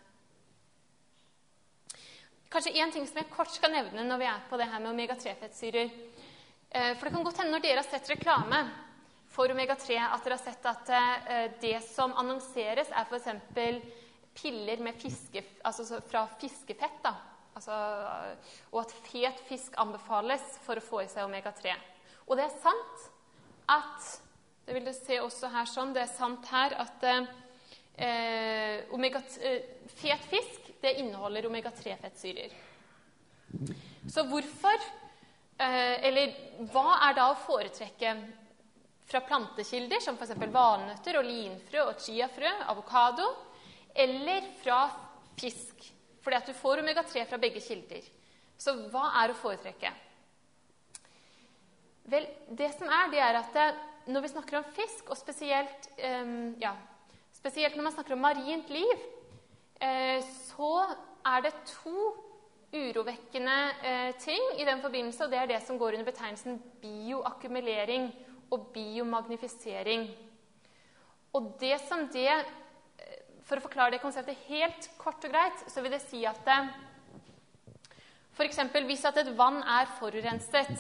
Kanskje en ting som jeg kort skal nevne når vi er på det her med omega tre fettsyrer. For det kan godt hende når dere har sett reklame for omega tre, at dere har sett at det som annonseres er for eksempel piller med fiske, altså fra fiskefett, da. Altså, og at fet fisk anbefales for å få i seg omega tre. Og det er sant at, det vil du se også her sånn, det er sant her at eh, omega, eh, fet fisk, det inneholder omega tre fettsyrer. Så hvorfor, eh, eller hva er da å foretrekke fra plantekilder, som for eksempel valnøtter og linfrø og chiafrø, avokado, eller fra fisk, fordi at du får omega tre fra begge kilder. Så hva er å foretrekke? Vel, det som er, det er at det, når vi snakker om fisk, og spesielt, um, ja, spesielt når man snakker om marint liv, eh, så er det to urovekkende eh, ting i den forbindelse, og det er det som går under betegnelsen bioakkumulering og biomagnifisering. Og det som det For å forklare det konseptet helt kort og greit, så vil det si at For eksempel, hvis at et vann er forurenset,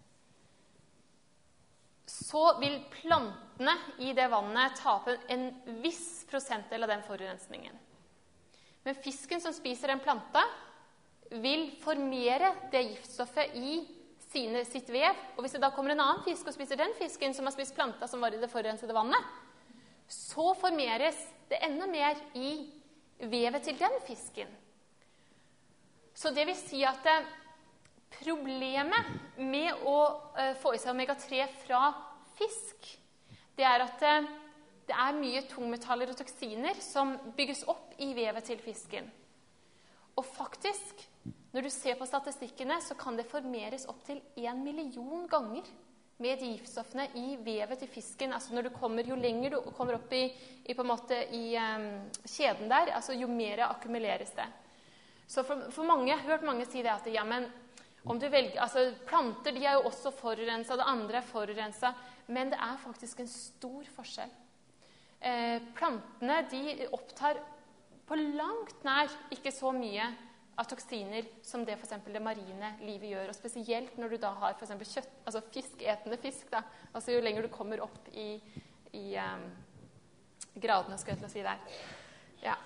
så vil plantene i det vannet tape en viss prosentdel av den forurensningen. Men fisken som spiser den planta, vil formere det giftstoffet i sine, sitt vev. Og hvis det da kommer en annen fisk og spiser den fisken som har spist planta som var i det forurensede vannet, så formeres det enda mer i vevet til den fisken. Så det vil si at eh, problemet med å eh, få i seg omega tre fra fisk, det er at eh, det er mye tungmetaller og toksiner som bygges opp i vevet til fisken. Og faktisk, når du ser på statistikkene, så kan det formeres opp til en million ganger med de giftstoffene i vevet til fisken. Altså når du kommer, jo lenger du kommer opp i, i, på en måte, i um, kjeden der, altså jo mer akkumuleres det. Så for, for mange, jeg har hørt mange si det at ja, men om du velger, altså planter de er jo også forurenset, det andre er forurenset, men det er faktisk en stor forskjell. Eh, plantene de opptar på langt nær ikke så mye av toksiner som det for eksempel det marine livet gjør, og spesielt når du da har for eksempel kjøtt, altså fiskeetende fisk da, altså jo lenger du kommer opp i, i um, gradene, skal jeg til å si der. Ja.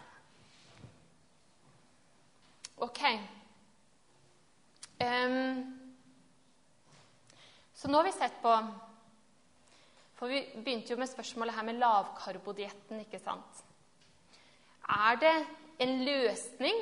Ok. Um, så nå har vi sett på, for vi begynte jo med spørsmålet her med lavkarbodietten, ikke sant? Er det en løsning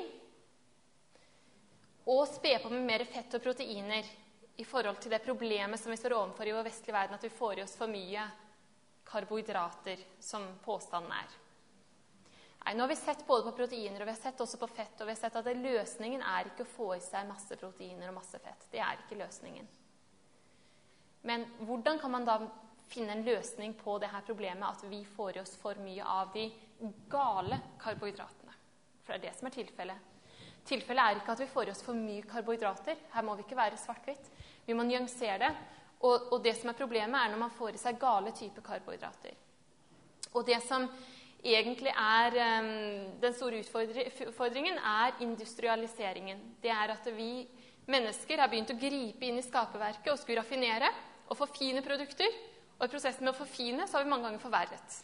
å spe på med mer fett og proteiner i forhold til det problemet som vi står overfor i vår vestlige verden, at vi får i oss for mye karbohydrater, som påstanden er? Nei, nå har vi sett både på proteiner, og vi har sett også på fett, og vi har sett at løsningen er ikke å få i seg masse proteiner og masse fett. Det er ikke løsningen. Men hvordan kan man da finne en løsning på det her problemet at vi får i oss for mye av de gale karbohydratene? For det er det som er tilfellet. Tilfellet er ikke at vi får i oss for mye karbohydrater. Her må vi ikke være svart-hvitt. Vi må nyansere det. Og, og det som er problemet er når man får i seg gale typer karbohydrater. Og det som egentlig er um, den store utfordringen er industrialiseringen. Det er at vi mennesker har begynt å gripe inn i skaperverket og skulle raffinere og forfine produkter. Og i prosessen med å forfine så har vi mange ganger forverret.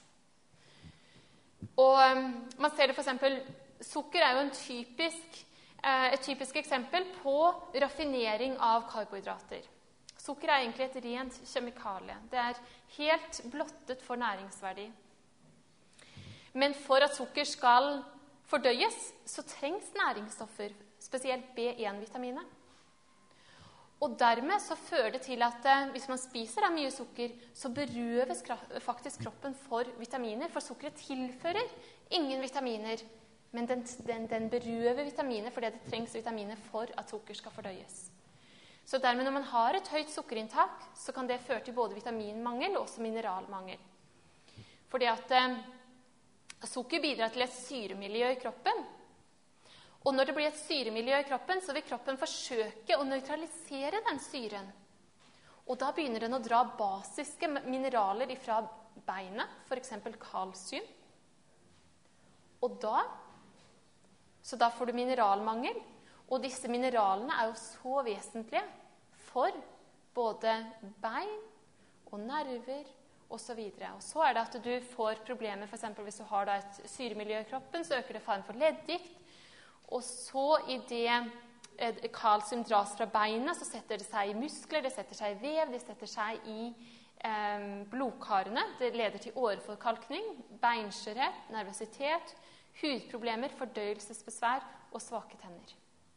Og um, man ser det for eksempel, sukker er jo en typisk, uh, et typisk eksempel på raffinering av karbohydrater. Sukker er egentlig et rent kjemikalie. Det er helt blottet for næringsverdi. Men for at sukker skal fordøyes, så trengs næringsstoffer, spesielt B en vitaminet. Og dermed så fører det til at eh, hvis man spiser mye sukker, så berøves faktisk kroppen for vitaminer. For sukkeret tilfører ingen vitaminer, men den, den, den berøver vitaminer fordi det trengs vitaminer for at sukker skal fordøyes. Så dermed når man har et høyt sukkerinntak, så kan det føre til både vitaminmangel og også mineralmangel. Fordi at eh, sukker bidrar til et syremiljø i kroppen. Og når det blir et syremiljø i kroppen, så vil kroppen forsøke å nøytralisere den syren. Og da begynner den å dra basiske mineraler fra beinet, for eksempel kalsium. Og da, så da får du mineralmangel. Og disse mineralene er jo så vesentlige for både bein og nerver og så videre. Og så er det at du får problemer, for eksempel hvis du har da et syremiljø i kroppen, så øker det faren for leddgikt. Og så i det kalsium dras fra beina, så setter det seg i muskler, det setter seg i vev, det setter seg i eh, blodkarene. Det leder til åreforkalkning, beinskjørhet, nervøsitet, hudproblemer, fordøyelsesbesvær og svake tenner.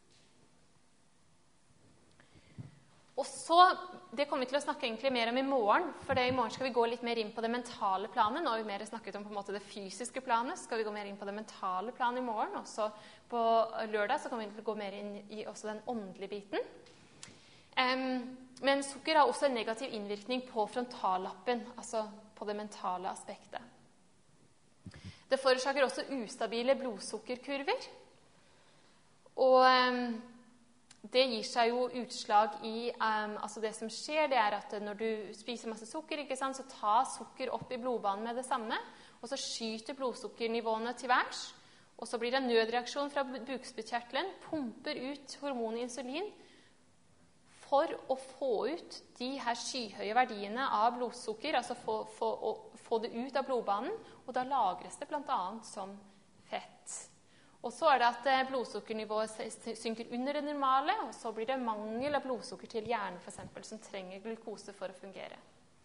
Og så, det kommer vi til å snakke egentlig mer om i morgen, for det, i morgen skal vi gå litt mer inn på det mentale planet. Nå har vi mer snakket om på en måte det fysiske planet, så skal vi gå mer inn på det mentale planet i morgen. Og så på lørdag så kommer vi til å gå mer inn i også den åndelige biten. Um, men sukker har også en negativ innvirkning på frontallappen, altså på det mentale aspektet. Det forårsaker også ustabile blodsukkerkurver. Og um, det gir seg jo utslag i, um, altså det som skjer, det er at når du spiser masse sukker, ikke sant, så tar sukker opp i blodbanen med det samme, og så skyter blodsukkernivåene til værs, Og så blir det en nødreaksjon fra bukspyttkjertelen, pumper ut hormonet insulin for å få ut de her skyhøye verdiene av blodsukker, altså få, få, få det ut av blodbanen, og da lagres det blant annet som fett. Og så er det at blodsukkernivået synker under det normale, og så blir det mangel av blodsukker til hjernen, for eksempel, som trenger glukose for å fungere.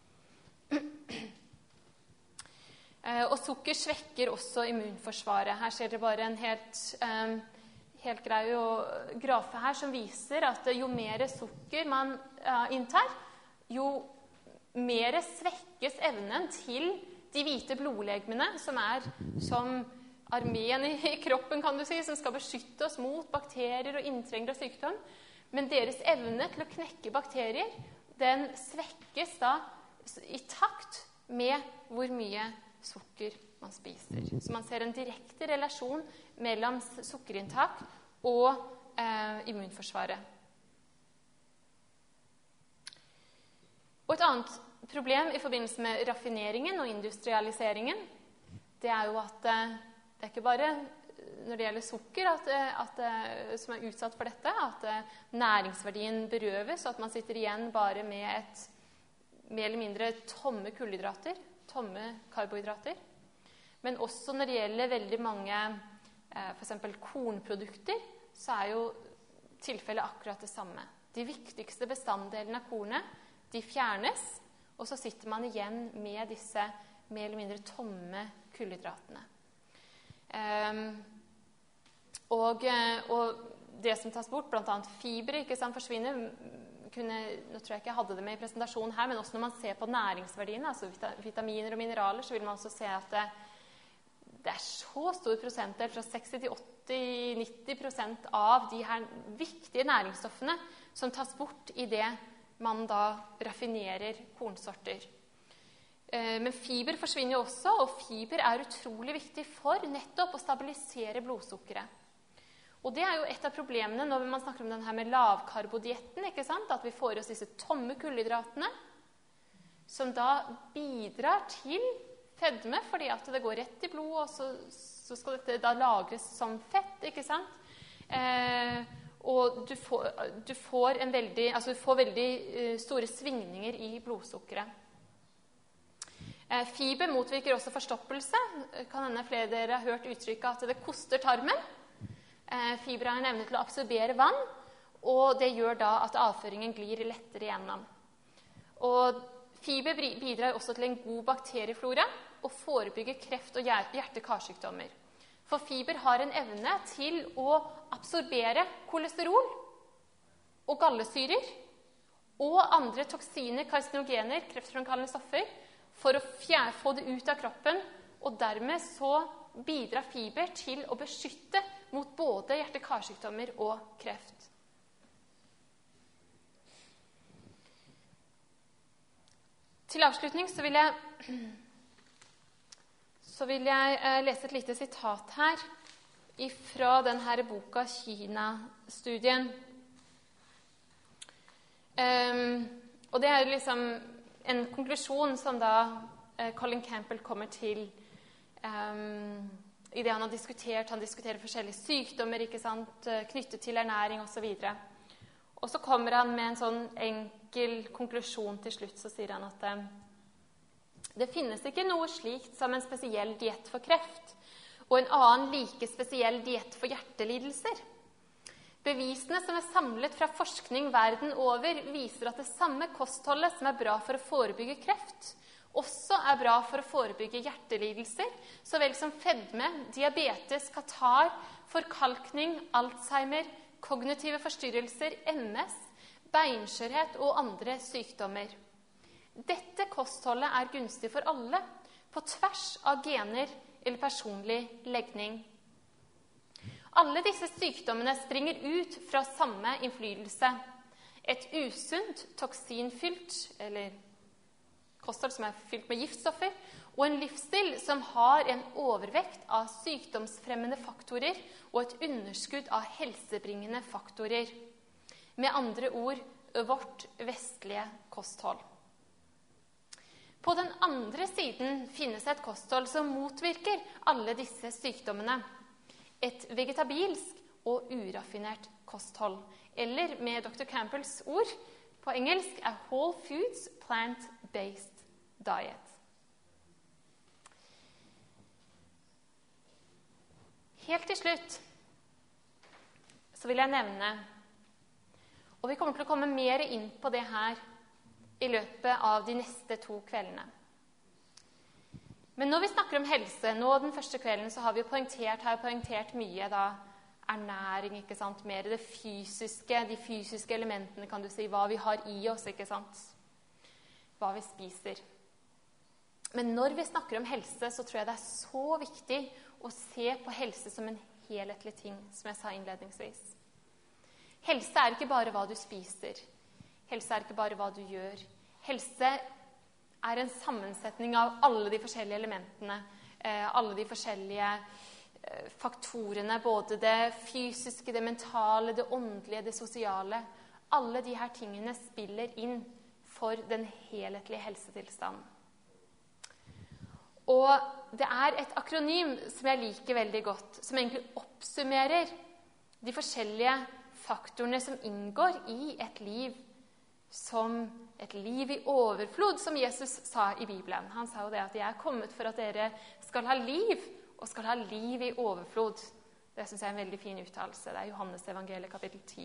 Og sukker svekker også immunforsvaret. Her ser dere bare en helt, um, helt grei grafe her som viser at jo mer sukker man uh, inntar, jo mer svekkes evnen til de hvite blodlegemene, som er som armeen i kroppen, kan du si, som skal beskytte oss mot bakterier og inntrengere og sykdom. Men deres evne til å knekke bakterier, den svekkes da i takt med hvor mye sukker man spiser. Så man ser en direkte relasjon mellom sukkerinntak og eh, immunforsvaret. Og et annet problem i forbindelse med raffineringen og industrialiseringen, det er jo at eh, det er ikke bare når det gjelder sukker at, at, som er utsatt for dette, at næringsverdien berøves, og at man sitter igjen bare med et mer eller mindre tomme kullhydrater, tomme karbohydrater. Men også når det gjelder veldig mange for eksempel kornprodukter, så er jo tilfellet akkurat det samme. De viktigste bestanddelene av kornet, de fjernes, og så sitter man igjen med disse mer eller mindre tomme kullhydratene. Um, og, og det som tas bort, blant annet fiber, ikke sant, forsvinner. Kunne, nå tror jeg ikke jeg hadde det med i presentasjonen her, men også når man ser på næringsverdiene, altså vitaminer og mineraler, så vil man også se at det, det er så stor prosentdel, fra seksti til åtti til nitti prosent av de her viktige næringsstoffene som tas bort i det man da raffinerer kornsorter. Men fiber forsvinner jo også, og fiber er utrolig viktig for nettopp å stabilisere blodsukkeret. Og det er jo et av problemene når man snakker om denne med lavkarbodietten, ikke sant? At vi får oss disse tomme kullhydratene, som da bidrar til fedme, fordi at det går rett i blod, og så, så skal dette da lagres som fett, ikke sant? Eh, og du får, du får en veldig, altså du får veldig uh, store svingninger i blodsukkeret. Eh, fiber motvirker også forstoppelse. Kan hende flere av dere har hørt uttrykket at det koster tarmen. Fiber har en evne til å absorbere vann, og det gjør da at avføringen glir lettere gjennom. Og fiber bidrar også til en god bakterieflora og forebygger kreft og hjerte-karsykdommer. For fiber har en evne til å absorbere kolesterol og gallesyrer og andre toksiner, karsinogener, kreftfremkallende stoffer, for å fjerne, få det ut av kroppen, og dermed så bidrar fiber til å beskytte mot både hjerte-karsykdommer og kreft. Til avslutning så vil jeg, så vil jeg lese et lite sitat her fra denne boka Kina-studien. Um, og det er liksom en konklusjon som da uh, Colin Campbell kommer til um, i det han har diskutert. Han diskuterer forskjellige sykdommer, ikke sant, knyttet til ernæring og så videre. Og så kommer han med en sånn enkel konklusjon til slutt, så sier han at eh, det finnes ikke noe slikt som en spesiell diett for kreft, og en annen like spesiell diett for hjertelidelser. Bevisene som er samlet fra forskning verden over, viser at det samme kostholdet som er bra for å forebygge kreft, også er bra for å forebygge hjertelidelser, så vel som fedme, diabetes, katar, forkalkning, Alzheimer, kognitive forstyrrelser, M S, beinskjørhet og andre sykdommer. Dette kostholdet er gunstig for alle, på tvers av gener eller personlig legning. Alle disse sykdommene springer ut fra samme innflytelse. Et usunt, toksinfylt, eller kosthold som er fylt med giftstoffer, og en livsstil som har en overvekt av sykdomsfremmende faktorer og et underskudd av helsebringende faktorer. Med andre ord, vårt vestlige kosthold. På den andre siden finnes et kosthold som motvirker alle disse sykdommene. et vegetabilsk og uraffinert kosthold. Eller med doktor Campbells ord på engelsk er whole foods plant-based diet. Helt til slutt så vil jeg nevne, og vi kommer til å komme mer inn på det her i løpet av de neste to kveldene. Men når vi snakker om helse, nå den første kvelden, så har vi jo poengtert, har poengtert mye da, ernæring, ikke sant? Mer det fysiske, de fysiske elementene, kan du si, hva vi har i oss, ikke sant? Hva vi spiser. Men når vi snakker om helse, så tror jeg det er så viktig å se på helse som en helhetlig ting, som jeg sa innledningsvis. Helse er ikke bare hva du spiser. Helse er ikke bare hva du gjør. Helse er en sammensetning av alle de forskjellige elementene, eh, alle de forskjellige eh, faktorene, både det fysiske, det mentale, det åndelige, det sosiale. Alle de her tingene spiller inn for den helhetlige helsetilstanden. Og det er et akronym som jeg liker veldig godt, som egentlig oppsummerer de forskjellige faktorene som inngår i et liv som et liv i overflod, som Jesus sa i Bibelen. Han sa jo det at jeg er kommet for at dere skal ha liv, og skal ha liv i overflod. Det synes jeg er en veldig fin uttalelse. Det er Johannes evangeliet kapittel ti.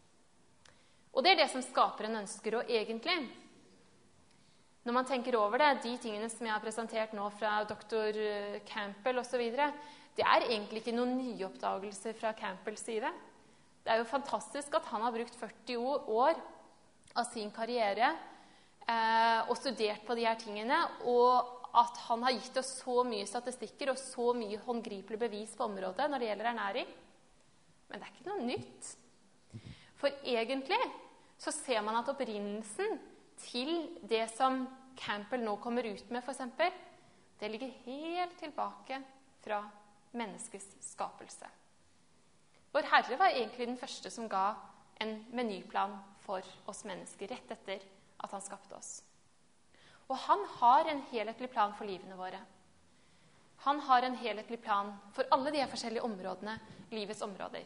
Og det er det som skaperen ønsker, og egentlig, når man tenker over det, de tingene som jeg har presentert nå fra doktor Campbell og så videre, det er egentlig ikke noen nyoppdagelser fra Campbells side. Det er jo fantastisk at han har brukt førti år av sin karriere eh, og studert på de her tingene, og at han har gitt oss så mye statistikker og så mye håndgripelig bevis på området når det gjelder ernæring. Men det er ikke noe nytt. For egentlig så ser man at opprinnelsen til det som Campbell nå kommer ut med, for eksempel, det ligger helt tilbake fra menneskets skapelse. Vår Herre var egentlig den første som ga en menyplan for oss mennesker rett etter at han skapte oss. Og han har en helhetlig plan for livene våre. Han har en helhetlig plan for alle de her forskjellige områdene, livets områder.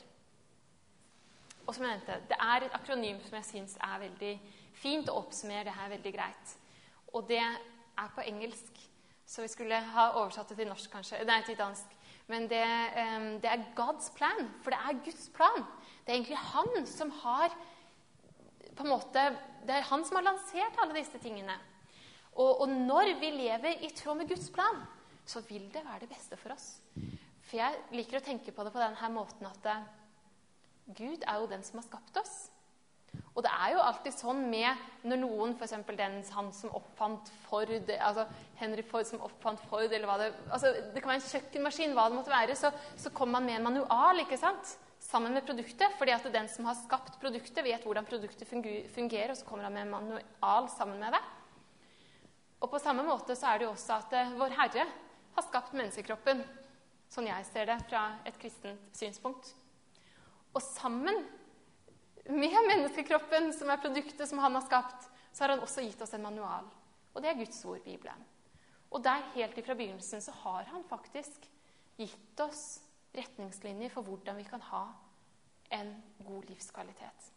Og som jeg nevnte, det er et akronym som jeg synes er veldig fint å oppsummere det her veldig greit. Og det er på engelsk, så vi skulle ha oversatt det til norsk kanskje, nei, til dansk. Men det, det er God's plan, for det er Guds plan. Det er egentlig han som har, på en måte, det er han som har lansert alle disse tingene. Og, og når vi lever i tråd med Guds plan, så vil det være det beste for oss. For jeg liker å tenke på det på denne måten at Gud er jo den som har skapt oss. Og det er jo alltid sånn med når noen, for eksempel den, han som oppfant Ford, altså Henry Ford som oppfant Ford, eller hva det, altså det kan være en kjøkkenmaskin, hva det måtte være, så, så kommer man med en manual, ikke sant? Sammen med produktet, fordi at den som har skapt produktet vet hvordan produktet fungerer, og så kommer han med en manual sammen med det. Og på samme måte så er det jo også at uh, vår Herre har skapt menneskekroppen, sånn jeg ser det fra et kristent synspunkt. Og sammen med menneskekroppen, som er produktet som han har skapt, så har han også gitt oss en manual. Og det er Guds ord, Bibelen. Og der helt ifra begynnelsen så har han faktisk gitt oss retningslinjer for hvordan vi kan ha en god livskvalitet.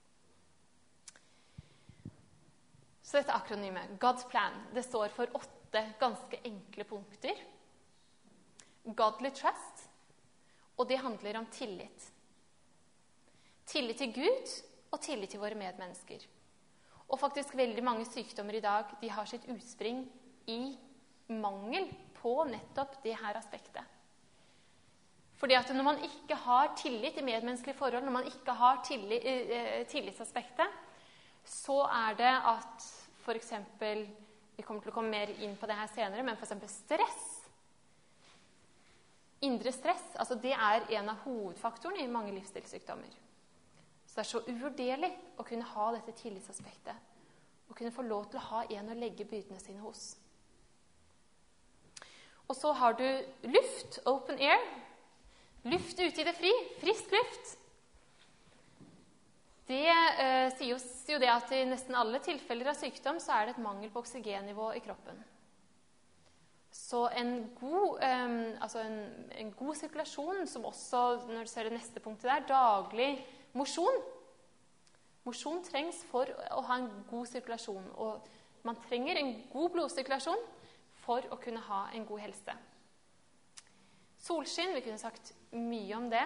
Så dette akronymet, God's plan, det står for åtte ganske enkle punkter. Godly trust, og det handler om tillit. Tillit til Gud og tillit til våre medmennesker. Og faktisk veldig mange sykdommer i dag, de har sitt utspring i mangel på nettopp det her aspektet. Fordi at når man ikke har tillit i medmenneskelige forhold, når man ikke har tillit, eh, tillitsaspektet, så er det at for eksempel, vi kommer til å komme mer inn på det her senere, men for eksempel stress. Indre stress, altså det er en av hovedfaktorene i mange livsstilssykdommer. Så det er så uvurderlig å kunne ha dette tillitsaspektet, og kunne få lov til å ha en å legge byrdene sine hos. Og så har du luft, open air, luft ute i det fri, frisk luft. Det eh, sier jo det at i nesten alle tilfeller av sykdom så er det et mangel på oksygennivå i kroppen. Så en god, eh, altså en, en god sirkulasjon, som også, når du ser det neste punktet der, daglig mosjon. Mosjon trengs for å ha en god sirkulasjon, og man trenger en god blodsirkulasjon for å kunne ha en god helse. Solskinn, vi kunne sagt mye om det.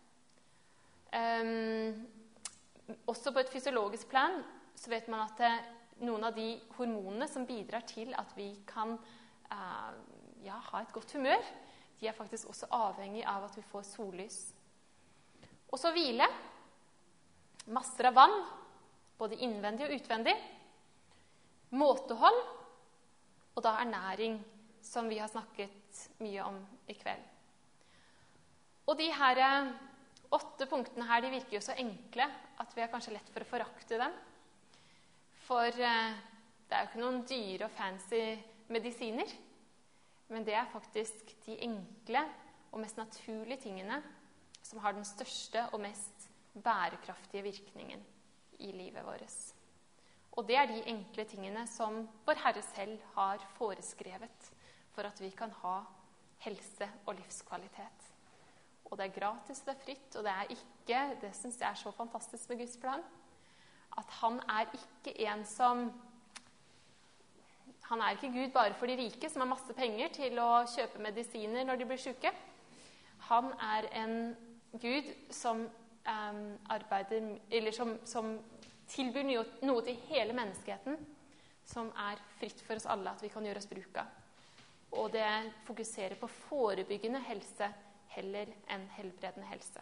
Um, også på et fysiologisk plan så vet man at det, noen av de hormonene som bidrar til at vi kan uh, ja, ha et godt humør, de er faktisk også avhengig av at vi får sollys. Og så hvile. Masser av vann, både innvendig og utvendig. Måtehold, og da ernæring, som vi har snakket mye om i kveld. Og de her åtte punktene her, de virker jo så enkle at vi har kanskje lett for å forakte dem. For eh, det er jo ikke noen dyre og fancy medisiner, men det er faktisk de enkle og mest naturlige tingene som har den største og mest bærekraftige virkningen i livet vårt. Og det er de enkle tingene som vår Herre selv har foreskrevet for at vi kan ha helse og livskvalitet. Og det er gratis, det er fritt, og det er ikke, det synes jeg er så fantastisk med Guds plan, at han er ikke en som, han er ikke Gud bare for de rike som har masse penger til å kjøpe medisiner når de blir syke. Han er en Gud som um, arbeider, eller som, som tilbyr noe, noe til hele menneskeheten, som er fritt for oss alle at vi kan gjøre oss bruk av. Og det fokuserer på forebyggende helse heller enn helbredende helse.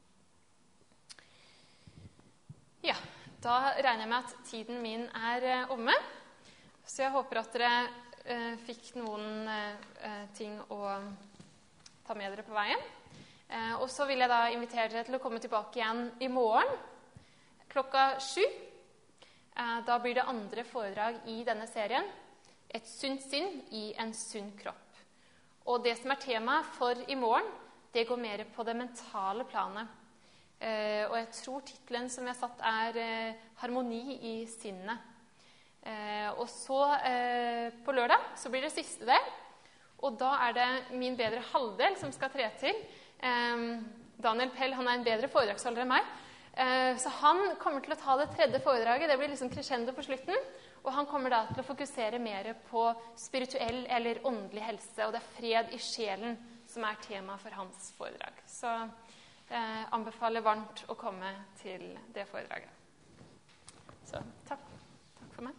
Ja, da regner jeg med at tiden min er eh, omme. Så jeg håper at dere eh, fikk noen eh, ting å ta med dere på veien. Eh, og så vil jeg da invitere dere til å komme tilbake igjen i morgen klokka sju. Eh, da blir det andre foredrag i denne serien. Et sunt sinn i en sunn kropp. Og det som er temaet for i morgen, det går mer på det mentale planet. Eh, og jeg tror titlen som jeg har satt er eh, Harmoni i sinnet. Eh, og så eh, på lørdag så blir det siste del. Og da er det min bedre halvdel som skal tre til. Eh, Daniel Pell, han er en bedre foredragsholder enn meg. Eh, så han kommer til å ta det tredje foredraget. Det blir liksom crescendo på slutten. Og han kommer da til å fokusere mer på spirituell eller åndelig helse. Og det er fred i sjelen som er tema for hans foredrag. Så eh, anbefaler varmt å komme til det foredraget. Så takk. Takk for meg.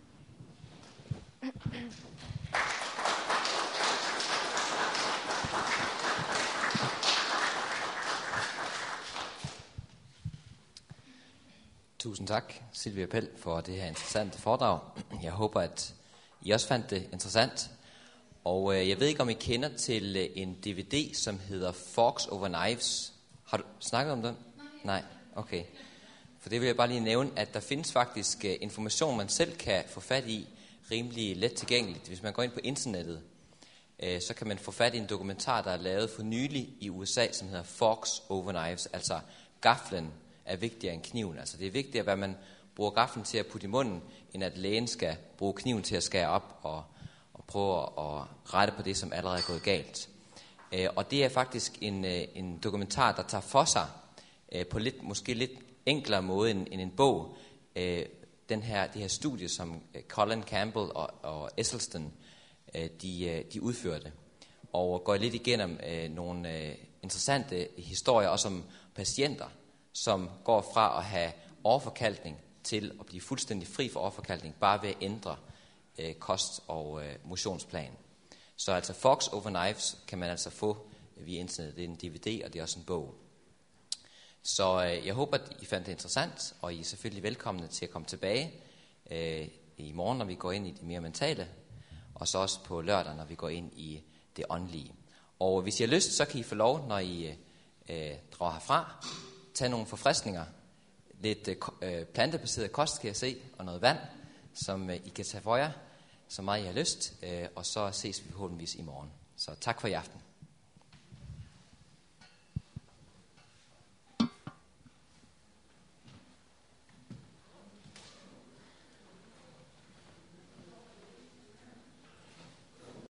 Tusind tak, Silvia Pell, for det her interessante foredrag. Jeg håper, at I også fandt det interessant. Og øh, jeg ved ikke, om I kender til øh, en D V D, som hedder Forks Over Knives. Har du snakket om den? Nej. Nej, okay. For det vil jeg bare lige nævne, at der findes faktisk øh, information, man selv kan få fat i, rimelig let tilgængeligt. Hvis man går ind på internettet, øh, så kan man få fat i en dokumentar, der er lavet for nylig i U S A, som hedder Forks Over Knives. Altså, gaflen er vigtigere end kniven. Altså, det er vigtigere, hvad man bruger gaflen til at putte i munden, end at lægen skal bruge kniven til at skære op og prøve at rette på det, som allerede er gået galt. Og det er faktisk en, en dokumentar, der tager for sig på lidt, måske lidt enklere måde end, end en bog. Den her, det her studie, som Colin Campbell og, og Esselstyn, de, de udførte. Og går lidt igennem nogle interessante historier, også om patienter, som går fra at have overforkalkning til at blive fuldstændig fri for overforkalkning, bare ved at ændre kost- og øh, motionsplan. Så altså Forks Over Knives kan man altså få via internet. Det er en D V D, og det er også en bog. Så øh, jeg håber, at I fandt det interessant, og I er selvfølgelig velkomne til at komme tilbage øh, i morgen, når vi går ind i det mere mentale, og så også på lørdag, når vi går ind i det åndelige. Og hvis I har lyst, så kan I få lov, når I øh, drager herfra, tage nogle forfriskninger, lidt øh, plantebaseret kost, kan jeg se, og noget vand, som I kan tage for jer, så meget I har lyst, og så ses vi forhåbentligvis i morgen. Så tak for i aften.